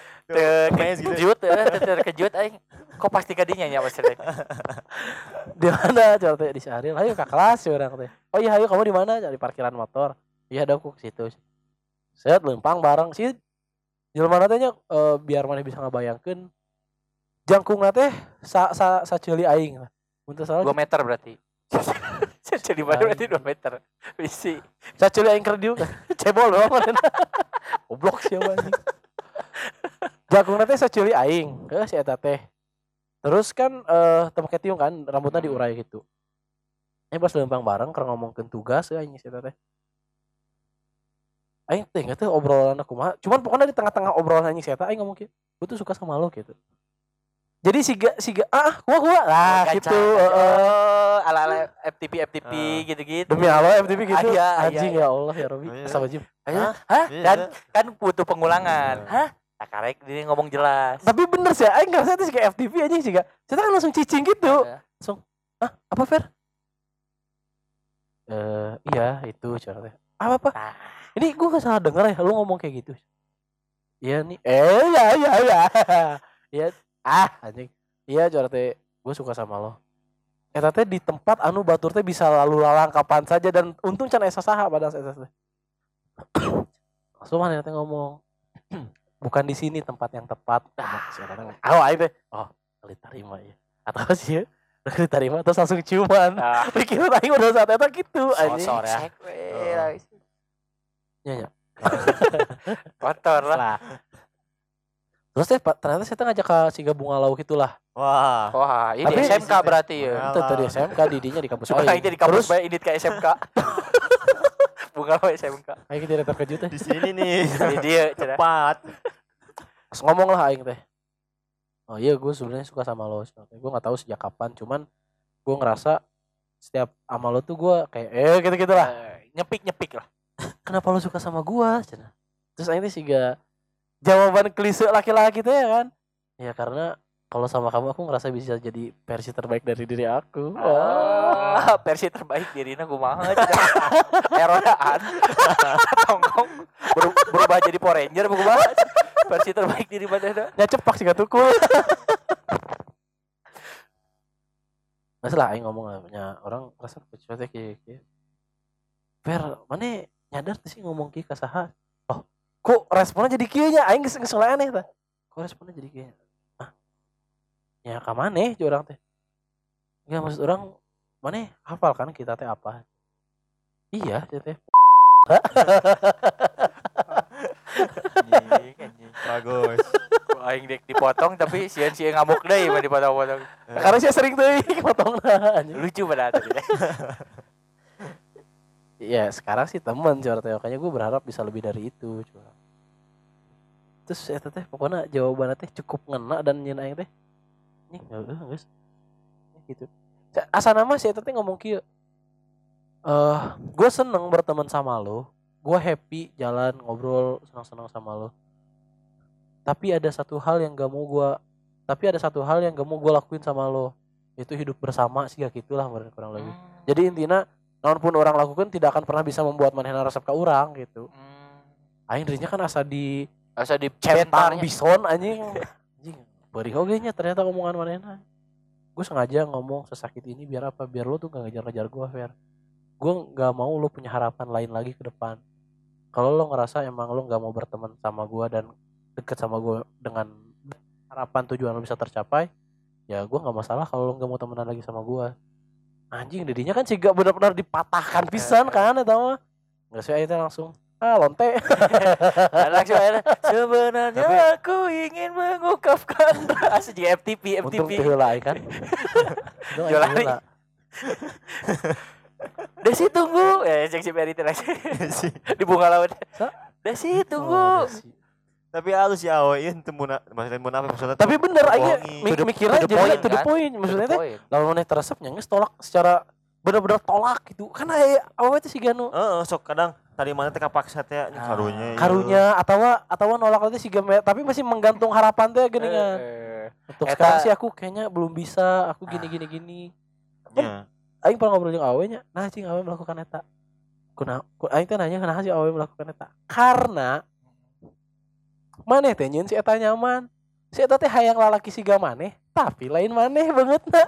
terkejut aing. Kok pasti kadinya nya maksudnya. Di mana curang teh? Di si Ariel. Ayo ke kelas curang teh. Oh iya ayo kamu di mana? Di parkiran motor. Iya ada aku ke situ. Set lempang bareng sih. Jelema teh nya biar maneh bisa ngabayangkeun jangkungna teh saceuli aing lah. Mun teu salah 2 meter berarti. Saceuli berarti 2 meter. Bisi. Saceuli aing keur dieu cebol doang manehna. Goblok sia anjing. Jangkungna teh saceuli aing. Si eta teh. Terus kan teu make tiung kan rambutna diurai gitu. Pas lempang bareng keur ngomongkeun tugas aing si eta teh. Aing teh enggak teh obrolan aku mah. Cuman pokoknya di tengah-tengah obrolan anjing si eta aing ngomong kieu, "Gua tuh suka sama lo" gitu. Jadi siga gua lah gitu. Ala FTP gitu-gitu. Demi Allah FTP gitu. Iya, Anjing ya Allah ya Rabbi. Astagfirullah. Hah? Dan kan butuh pengulangan. Hah? Tak karek dia ngomong jelas. Tapi bener sih, aing ngerasa itu kayak FTP anjing sih gak. Saya kan langsung cicing gitu. Langsung, apa Fer? Iya itu cara. Apa? Ini gue gak salah denger ya, lu ngomong kayak gitu. Iya nih. Iya. Anjing. Iya cara teh, gue suka sama lo. Eta teh di tempat anu batur teh bisa lalu lalang kapan saja dan untung can esa saha pada saat teh. Langsung mana teh ngomong. Bukan di sini tempat yang tepat. Aing teh. Oh, diterima ya. Atau sih diterima terus langsung ciuman. Pikiran aing udah saat eta gitu anjing. Sosor ya. Iya. Kotor lah. Terus teh ternyata saya ngajak ke siga bunga lauk itulah. Wah, ini Tapi SMK berarti ya. Itu tadi SMK didinya di kampus Coba aing. aja di kampus Terus bae ini ke SMK. Bunga lo SMK. aing tidak terkejut teh. Di sini nih. Di dia cenah. Cepat. Pas ngomong lah aing teh. Oh iya gue sebenarnya suka sama lo. Gue nggak tahu sejak kapan, cuman gue ngerasa setiap sama lo tuh gue kayak gitu-gitu lah. Nyepik lah. Kenapa lo suka sama gue? Terus aing teh siga jawaban klise laki-laki teh ya kan? Ya karena kalau sama kamu aku ngerasa bisa jadi versi terbaik dari diri aku. Versi terbaik dirina kumaha cenah. Erodaan. Tonggong berubah jadi Power Ranger kumaha. Versi terbaik diri mana? Ya cepak sih gak tukul. Masalah aing ngomong lah orang rasa pecuatnya kayak Fer, mana nyadar tuh sih ngomong kieu ka saha? Oh, kok responnya jadi kieu nya? Aing geus aneh tah. Kok responnya jadi kieu? Ya ka maneh jeung urang teh. Enggak maksud orang maneh hafal kan kita teh apa? Iya, teh. Anjing. Bagus. Aing dek dipotong tapi sieun ngamuk deui mah dipotong-potong. Karena saya sering tuh potongna. Lucu pada tadi. Iya, sekarang sih teman curhat teh. Makanya gue berharap bisa lebih dari itu, curhat. Terus eta teh pokoknya jawabannya teh cukup ngena dan nyeun aing teh. Nih, geus. Gitu. Asa nama si eta teh ngomong kieu. Gue seneng berteman sama lo. Gue happy jalan ngobrol senang-senang sama lo. Tapi ada satu hal yang gak mau gue lakuin sama lo. Itu hidup bersama sih kayak gitulah kurang lebih. Jadi intinya naon pun orang lakukan tidak akan pernah bisa membuat manehna resep ka urang gitu. Aing dirinya kan asa di centang bison anjing. Beuring oge nya ternyata omongan manehna. Gue sengaja ngomong sesakit ini biar apa? Biar lo tuh gak ngejar-ngejar gue, Fer. Gue gak mau lo punya harapan lain lagi ke depan. Kalau lo ngerasa emang lo gak mau berteman sama gue dan deket sama gue dengan harapan tujuan lo bisa tercapai, ya gue gak masalah kalau lo gak mau temenan lagi sama gue. Anjing didinya kan sih gak benar-benar dipatahkan pisan kan eta mah. Enggak sih akhirnya langsung lonte. Langsung aja. Sebenarnya aku ingin mengungkapkan rasa di FTP. Untung teu heula kan. Jolari. Desi tunggu. Cek si Peri lagi. Di bunga laut. Desi tunggu. Tapi halus ya awe ieu teu maksudnya mun apa maksudnya. Tapi bener aja mikirnya jadi to the point maksudnya teh. Lamun maneh teresep nya geus tolak secara bener-bener tolak gitu. Kan awe teh siga nu sok kadang tadi mana teh kapaksa teh karunya atawa nolak teh siga tapi masih menggantung harapan teh geuningan. Untuk sekarang sih aku kayaknya belum bisa, aku gini. Nya. Aing pernah ngobrol jeung awe nya. Nah, cing awe melakukan eta. Aing teh nanya kenapa sih awe melakukan eta? Karena maneh teh nyeun si eta nyaman. Si eta teh hayang lalaki siga maneh, tapi lain maneh bangetna.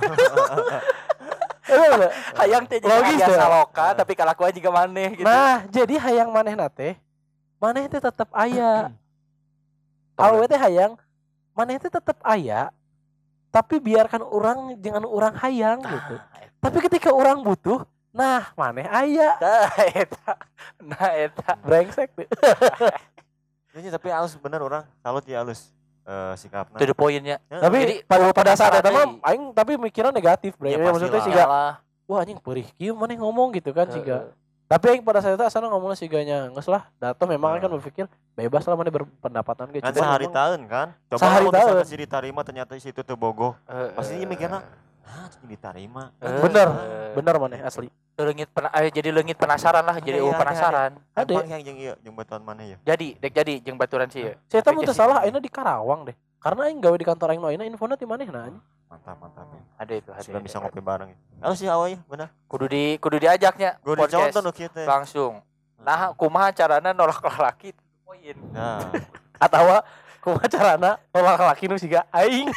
Hayang teh jadi biasa loka tapi kalakuan juga maneh gitu. Nah, jadi hayang manehna teh tetep aya. Awe teh hayang maneh teh tetep aya, tapi biarkan orang jangan orang hayang gitu. Tapi ketika orang butuh, nah maneh aya. Nah eta brengsek tuh. Ini tapi halus bener orang salut ya halus sikapna. Itu poinnya. Tapi pada saat eta mah aing tapi mikirnya negatif, bre. Ya, maksudnya siga wah anjing perih kieu maneh ngomong gitu kan siga. Tapi aing pada saat itu asana ngomongna siganya geus lah. Dato memang kan berpikir bebas lah maneh berpendapatan ge. Nanti sehari tahun kan. Coba kalau misalnya si diterima ternyata si itu teu bogoh. Pasti mikirna diterima. Bener maneh asli. Jadi leungit penasaran lah, jadi penasaran. Ada yang jeung batuan maneh ya. Jadi jeung baturan sih ya. Saya teh mun teu salah ayeuna di Karawang deh. Karena aing gawe di kantor aing ayeuna infona ti manehna. Mantap. Ada itu. Sudah bisa ngopi bareng. Halo sih awalnya benar. Kudu diajaknya. Gue dicontoh nu kieu teh. Langsung. Nah, kumaha carana nolak laki poin. Nah. Atawa kumaha carana nolak laki nu siga aing.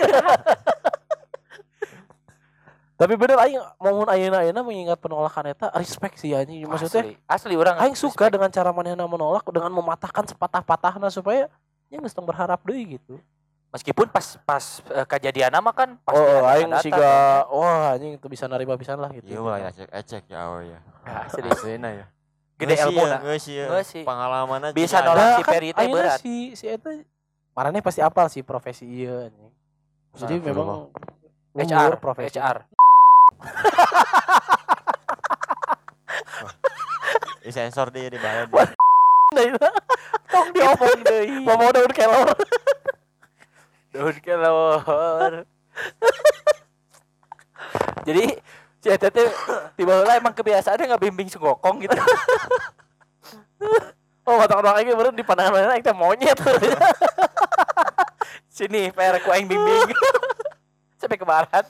Tapi bener aing mohon ayeuna mengingat penolakan eta respect sih anjing. Maksudnya asli orang aing suka dengan cara manehna menolak dengan mematahkan sepatah-patahna supaya nya geus tong berharap deui gitu. Meskipun pas kejadian mah kan pasti aing siga wah anjing itu bisa narima pisan lah gitu. Iya lah ecek ya awe ya. Asli ya. Gede ilmu na. Geus pengalaman aja. Bisa nolak si Peri teh berat. Si eta marane pasti apal sih profesi ieu anjing. Jadi memang HR profesi HR. Sensor dia di bawah. Tong diomong deui. mau daun kelor. Daun kelor. Jadi si eta teh tiba heula emang kebiasaannya ngabimbing sungokong gitu. Oh, mata-mata aing bener di pandangan mana aing teh monyet. Sini PR ku aing bimbing. Sampai ke barat.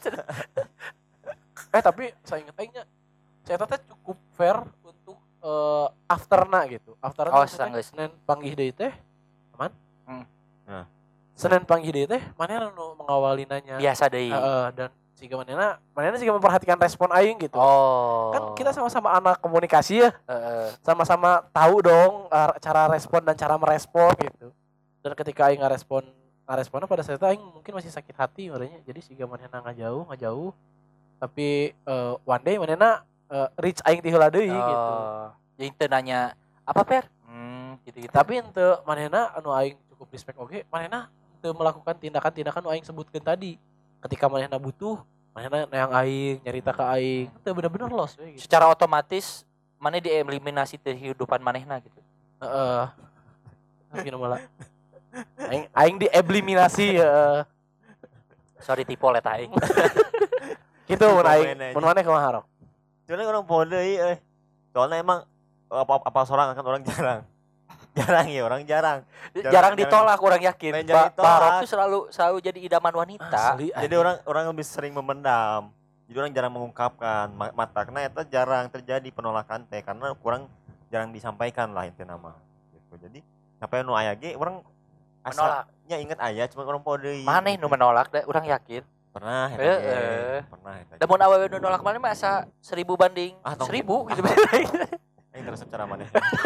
Tapi saya ingat aingnya saya teh cukup fair untuk afterna gitu. Afterna Oh, maksudnya sanggeus. Senin panggih deui teh aman? Nah. Senin panggih deui teh manehna nu mengawali nanya. Biasa deui. Dan siga manehna siga memperhatikan respon aing gitu. Oh. Kan kita sama-sama anak komunikasi ya. Sama-sama tahu dong cara respon dan cara merespon gitu. Dan ketika aing ngaresponna pada saat itu aing mungkin masih sakit hati orangnya. Jadi siga manehna ngajauh. Tapi one day manehna reach aing ti heula deui gitu. Jadi teu nanya apa Per? Gitu-gitu. Tapi henteu manehna anu aing cukup respect oge, manehna teu melakukan tindakan-tindakan anu aing sebutkeun tadi. Ketika manehna butuh, manehna yang aing nyarita ka aing, teu bener-bener los we gitu. Secara otomatis maneh dieliminasi dari kehidupan manehna gitu. Heeh. Gimana malah. Aing dieliminasi Sorry tipe eta aing. Gitu mun aing. Mun maneh kumaha Rok? Soalnya orang pode euy. Soalnya emang apa seorang kan orang jarang. Orang jarang. Jarang ditolak orang yakin. Jarang ditolak. Barok tuh selalu jadi idaman wanita. Asli, Jadi orang lebih sering memendam. Jadi orang jarang mengungkapkan matakna eta jarang terjadi penolakan teh karena kurang jarang disampaikan lah intinya nama gitu. Jadi sampai nu aya ge urang asalnya inget aya cuma orang pode. Maneh nu menolak da urang yakin. Pernah eta ge. Pernah eta. Da mun awewe nu nolak maneh mah asa 1000 banding 1000 gitu. Aing terus cara maneh.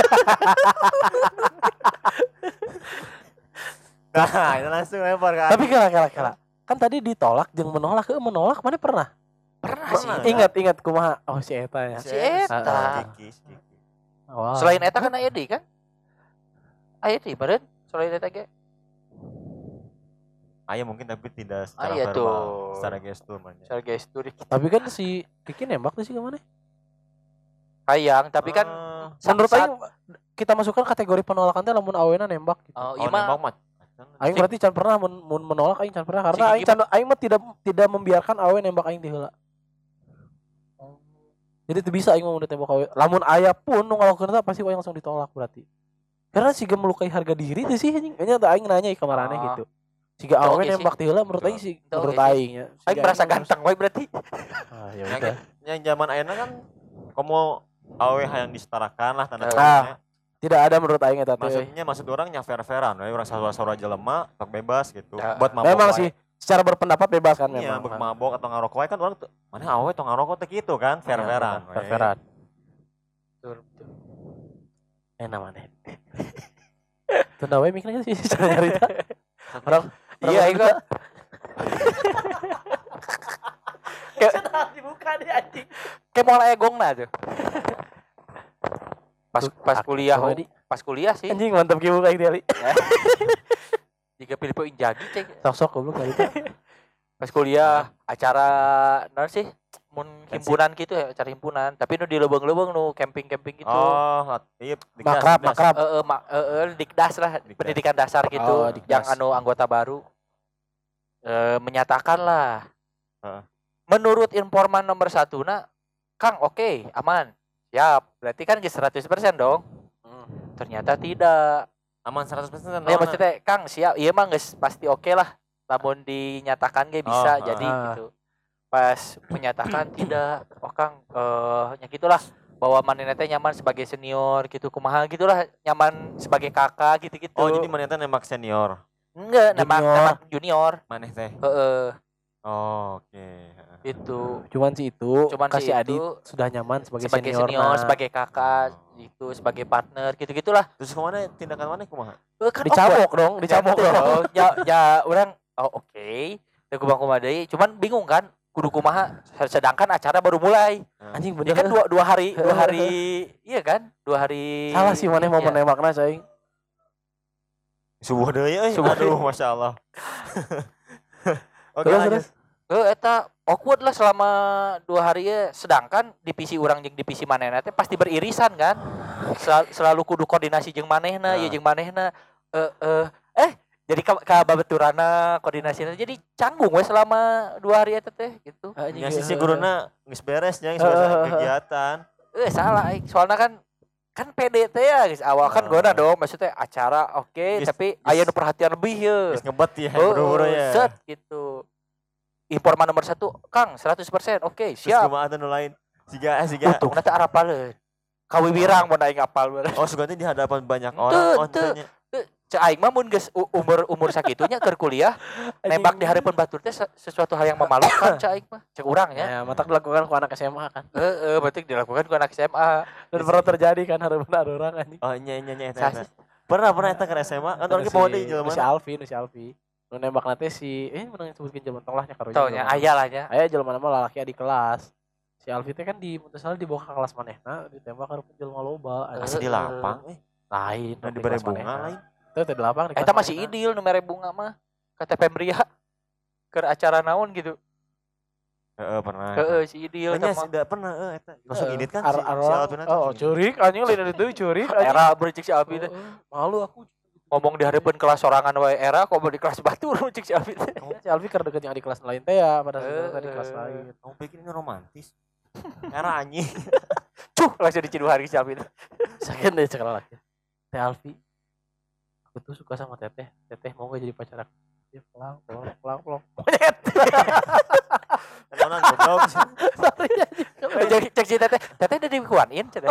Nah, itu langsung lempar kan. Tapi kala. Kan tadi ditolak jeung menolak maneh pernah? Pernah sih. Ingat kumaha? Oh si eta ya. Si eta. Kiki. Wow. Selain eta kan aya deui kan? Aya deui beureun selain eta ge. Aya mungkin tapi tidak secara Aya verbal, tuh. secara gestur mah. Secara gestur Tapi kan si Kiki nembak tuh sih kemana? sayang, tapi kan Menurut aing kita masukkan kategori penolakan teh lamun awena nembak gitu. oh, Oh, iya mah nembak mah. Aing berarti can pernah mun menolak aing can pernah karena aing mah tidak membiarkan awe nembak aing di heula. Jadi teu bisa aing mah mun ditembak awe. Lamun aya pun nu ngalakukeun eta pasti aing langsung ditolak berarti. Karena siga melukai harga diri teh sih anjing. Nya teh aing nanya ka marane gitu. Siga awe nembak di heula menurut aing sih menurut aing ya. Aing merasa ganteng we berarti. Ah ya udah. Yang zaman ayeuna kan komo awe hayang disetarakan lah tanda Ah. kutipnya. Tidak ada menurut aing eta teh. Maksud orang nya fair-fairan, we urang saudara jelema sok bebas gitu. Ya. Buat mabok. Memang wae. sih secara berpendapat bebas kan Iya, memang. mabok atau ngarokok wae kan orang tuh mana awe tong ngarokok teh gitu kan, fair-fairan. we. Fair-fairan. Enak maneh. Tunda we mikirnya sih cara nyarita. Orang Iya aing mah dibuka deh anjing. kayak moal aya gongna tuh. Pas kuliah sih. Anjing mantap kieu kayak tadi. Jika Filipo Injagi cek. Sok-sok goblok kali itu. Pas kuliah acara naon sih? Mun himpunan gitu ya, acara himpunan. Tapi nu di leubeung-leubeung nu camping-camping gitu. Oh, iya, Makrab. Dikdas lah, pendidikan dasar gitu. Oh, Dikdas. Yang anu anggota baru menyatakan lah. Menurut informan nomor 1 Kang oke, aman. Siap. Berarti kan 100% dong. Ternyata tidak. Aman 100%. Ya maksudnya Kang siap. Iya mah geus pasti oke lah. Namun dinyatakan ge bisa jadi gitu. Pas menyatakan tidak. Oh Kang nya gitulah bahwa manehna teh nyaman sebagai senior gitu kumaha gitulah, nyaman sebagai kakak gitu-gitu. Oh, jadi maneh teh nembak senior. Enggak, nembak junior. Maneh teh. Heeh. Oh, oke. Itu. Cuman si itu kasih Adit sudah nyaman sebagai senior, sebagai kakak, itu sebagai partner gitu-gitulah. Terus kemana tindakan mana kumaha? Kan dicabok dong. Ya orang oke. Teu kumaha deui, cuman bingung kan kudu kumaha sedangkan acara baru mulai. Anjing Ya bener kan dua hari iya kan? 2 hari. salah sih maneh mau menembakna cai. Subuh deui euy. Subuh Aduh, deui. masyaallah. Oke, Terus, lanjut. Eta awkward lah selama 2 hari ya. Sedangkan divisi urang jeung divisi manehna teh pasti beririsan kan. Selalu kudu koordinasi jeung manehna, Nah. ya jeung manehna. Jadi babaturanna koordinasinya jadi canggung we selama 2 hari eta teh gitu. Nya sih guruna geus beres nya, geus beres kegiatan. Salah aing. Soalnya kan PDT ya guys. Awal kan gona dong maksudnya acara oke, Geus- tapi aya nu perhatian lebih ya. Geus ngebet ya, buru-buru ya. Set gitu. Informan nomor 1, Kang 100%. Oke, Terus siap. kumaha teh nu lain? Siga Untung nanti arapaleun. Kawibirang mun aing apal bener. oh suganti di hadapan banyak orang. Oh Teu. tanya. Cek aing mah mun geus umur sakitunya keur kuliah, nembak di harapan batur teh sesuatu hal yang memalukan cek aing mah. Cek urang ya. Ya, matak dilakukan ku anak SMA kan. Berarti dilakukan ku anak SMA. Dan pernah terjadi kan harapan orang anjing. Oh nya eta. Sasis. Pernah eta ke SMA kan orang bawa deui jelema. Si Alfi. Nu nembak nanti si menang sebutkeun jelema tolahnya karo Taunya aya lah nya. Aya jelema nama lalaki di kelas. Si Alfi teh kan di muntah dibawa ke kelas manehna ditembak karo jelema loba. Asa di lapang Lain, nu dibere bunga lain. Teu teh di lapang di Eta kelas masih manehna. idil nu mere bunga mah. Kata Pembria. Keur acara naon gitu. Heeh, pernah. Si idil Nya sama tidak pernah eta. Langsung edit kan si Ar-ar- Alvin Oh, curik anjing lain itu curik anjing. era bercik si Alfi teh. Malu aku. Ngomong di hadapan kelas sorangan wae era kok di kelas batur cik si Alfi teh. Si Alfi keur deket yang di kelas lain teh ya pada saat itu di kelas lain. Kamu pikir ini romantis? Karena anjing. Cuh, langsung dicidu hari si Alfi teh. Sakit deh sekarang lagi. Teh Alfi. Aku tuh suka sama Teteh. Teteh mau gak jadi pacar aku? Dia pelang. Monyet. Orang goblok sih. Sorry anjing. Jadi cek si teteh udah dikuanin cenah.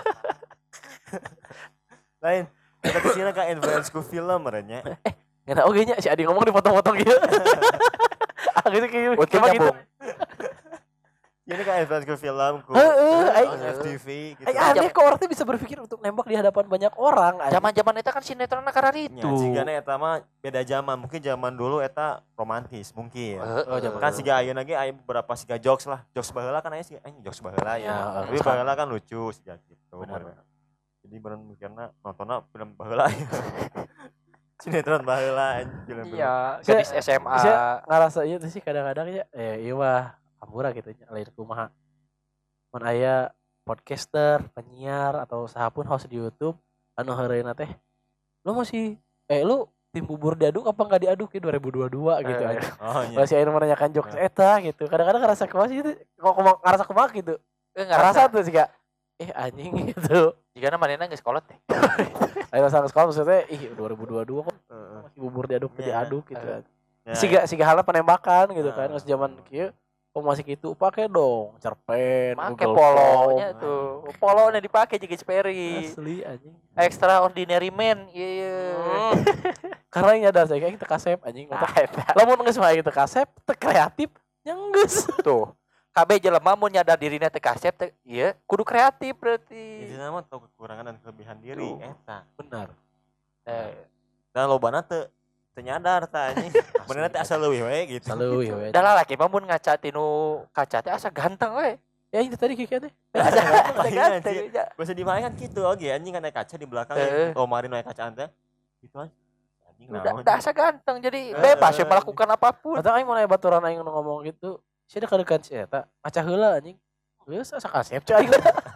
Lain. Kita kesini ke influence ku film merenya. Ngena oge nya si Adi ngomong dipotong-potong gitu. Ah gitu kayak Untuk cuma gitu. nyambung. Ini kan influence ku film ku. Aing- FTV gitu. Aneh kok orang tuh bisa berpikir untuk nembak di hadapan banyak orang. anjing. Zaman-zaman eta kan sinetron karena Ya, itu. jigana eta mah beda zaman. Mungkin zaman dulu eta romantis mungkin. Oh, zaman Kan dulu. siga ayeuna ge aya beberapa siga jokes lah. Jokes baheula kan aya siga anjing jokes baheula ya. Ya, Tapi baheula kan lucu siga gitu. Benar. Jadi bener mikirna nontonna film baheula. Sinetron baheula anjing film. Iya, gadis SMA. Saya ngerasa itu sih kadang-kadang ya iya mah hampura gitu nya lain kumaha. Mun aya podcaster, penyiar atau sahapun host di YouTube anu heureuna teh lu masih lu tim bubur diaduk apa enggak diaduk ya 2022 gitu aja. Oh iya. Masih aya nu menanyakan jokes eta gitu. Kadang-kadang ngerasa kumaha sih itu kok ngerasa kumaha gitu. Ngerasa Ngerasa tuh sih Kak. Anjing gitu. jigana manehna geus kolot teh. Ayo sang sekolah maksudnya 2022 kok Heeh. masih bubur diaduk Iya. diaduk gitu. Ya, Siga halnya penembakan gitu kan. Nah. Pas zaman kieu kok masih gitu pakai dong cerpen Make Google polonya Form. tuh. Polonya dipake jeung Sperry. Asli anjing. Extraordinary man. Iya. Karena yang nyadar saya kayak kita kasep anjing. Lamun geus mah kita kasep teu kreatif yang geus. Tuh. KB jelema mun nyadar dirina teh kasep teh ieu kudu kreatif berarti. Jadi nama tahu kekurangan dan kelebihan diri Tuh. eta. Benar. Dan lobana teu nyadar tah anjing. Benerna teh asal leuwih we gitu. Selalu ya. Da lalaki mah mun ngaca tinu kaca teh asa ganteng we. Ya itu tadi kieu teh. Asa Lain, ganteng. anjing. ya. Bisa dimainkan gitu oge anjing kan aya kaca di belakang lomari nu aya kacaan teh. Gitu aja. Anjing naon. Da asa ganteng jadi bebas ya melakukan apapun. Atau aing mun aya baturan aing nu ngomong gitu, sia da kadekan si eta, maca heula anjing. Geus asa kasep cai.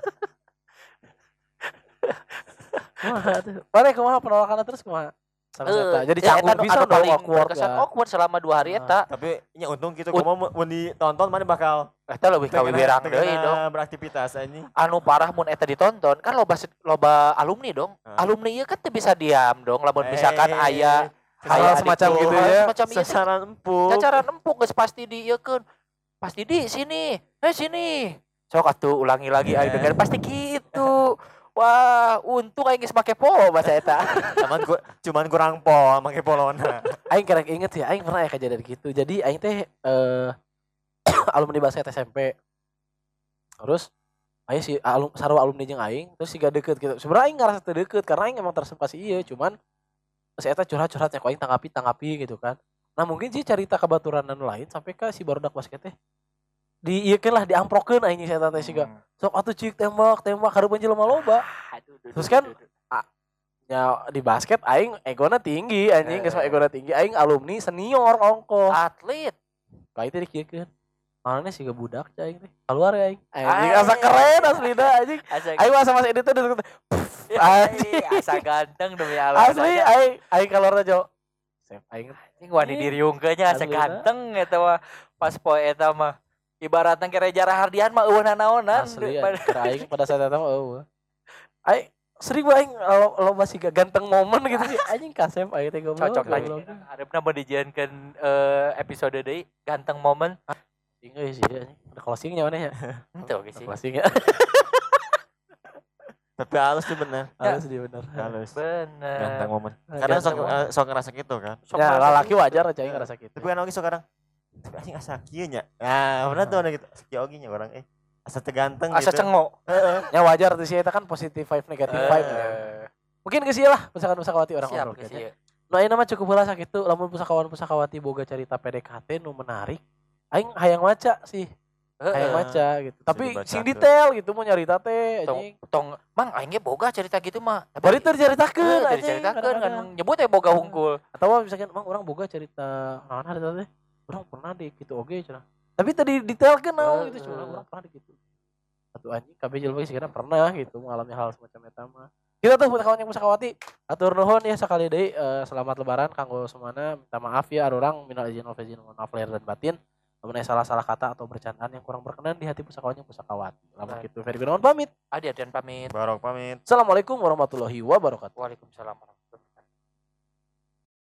Mana kumaha penolakanna terus kumaha? Sama si eta. Jadi canggung bisa dong awkward berkesan ya. awkward selama 2 hari eta. Tapi nya untung gitu kumaha mun ditonton mana bakal Eta leuwih kawiberang teu deui kena dong. beraktivitas anjing. Anu parah mun eta ditonton kan loba alumni dong. Heeh. Alumni ieu kan teu bisa diam dong lamun misalkan aya Hal semacam gitu ya. Semacam ieu teh Sasaran empuk. cacaran empuk geus pasti dieukeun. Pasti di sini. Sini. Sok atuh ulangi lagi aing dengar pasti gitu. Wah, untung aing geus make polo bahasa eta. Cuman kurang pol make polona. Aing kerek inget ya, aing pernah ya kejadian gitu. Jadi aing teh alumni basket SMP. Terus aya si sarua alumni jeung aing, terus siga deket gitu. Sebenarnya aing ngerasa teu deket karena aing emang tersebut ieu, cuman si eta curhat-curhatnya ku aing tanggapi gitu kan. Nah, mungkin sih cerita kabaturan lain sampai ke si barudak basket teh. Dieukeun lah diamprokeun aing si eta teh siga. Sok atuh cik tembak hareupeun jelema loba. Terus kan nya di basket aing egona tinggi anjing geus egona tinggi aing alumni senior ongko Atlet. bae teh dikiekeun mana sih budak cai teh keluar ya aing anjing asa keren aslina anjing aing masa mas edit teh asa ganteng demi Allah asli aing keluar aja save aing anjing wani diriungkeun nya asa ganteng eta mah pas poe eta mah ibaratna kere Jara Hardian mah eueuh nanaonan asli aing pada saat eta mah eueuh aing sering aing lo masih ganteng momen gitu sih anjing kasep aing teh goblok cocok lagi harapna mau dijieunkeun episode deui ganteng momen tinggal sih anjing ada closingnya mana ya itu oke sih closingnya Tapi halus sih bener. halus dia bener Halus. bener Ganteng momen. Kadang sok ngerasa gitu kan. ya laki wajar aja ngerasa gitu Tapi kan oge sok kadang tapi anjing asa kieu nya. Nah, bener tuh ada gitu. Kieu oge nya orang asa teu ganteng asa gitu. cengo ya wajar tuh sih eta kan positive vibe negative vibe ya. Mungkin geus ieu lah pusakawan-pusakawati orang siap ngobrol geus gitu. ieu. Nah ini mah cukup heula sakitu lamun pusakawan-pusakawati boga cerita PDKT nu menarik aing hayang maca sih. Hayang maca gitu. Tapi sing detail gitu mau nyarita teh anjing. Tong mang aing ge boga cerita gitu mah. Bari teu dicaritakeun anjing. Diceritakeun kan nyebut boga hungkul. Atau misalkan mang urang boga cerita naon harita teh. Urang pernah di kitu oge cenah. Tapi tadi detailkeun naon gitu cenah urang pernah di kitu. Atuh anjing kabeh jelema geus pernah gitu mengalami hal semacam eta mah. Kita tuh pusakawan yang pusakawati atur nuhun ya sekali deui selamat lebaran kanggo semuanya minta maaf ya arurang minal izin wal faizin mohon maaf lahir dan batin lamun salah-salah kata atau bercandaan yang kurang berkenan di hati pusakawan yang pusakawati lamun kitu Ferry Gunawan pamit Adi Adian pamit. Barok pamit. Assalamualaikum warahmatullahi wabarakatuh Waalaikumsalam.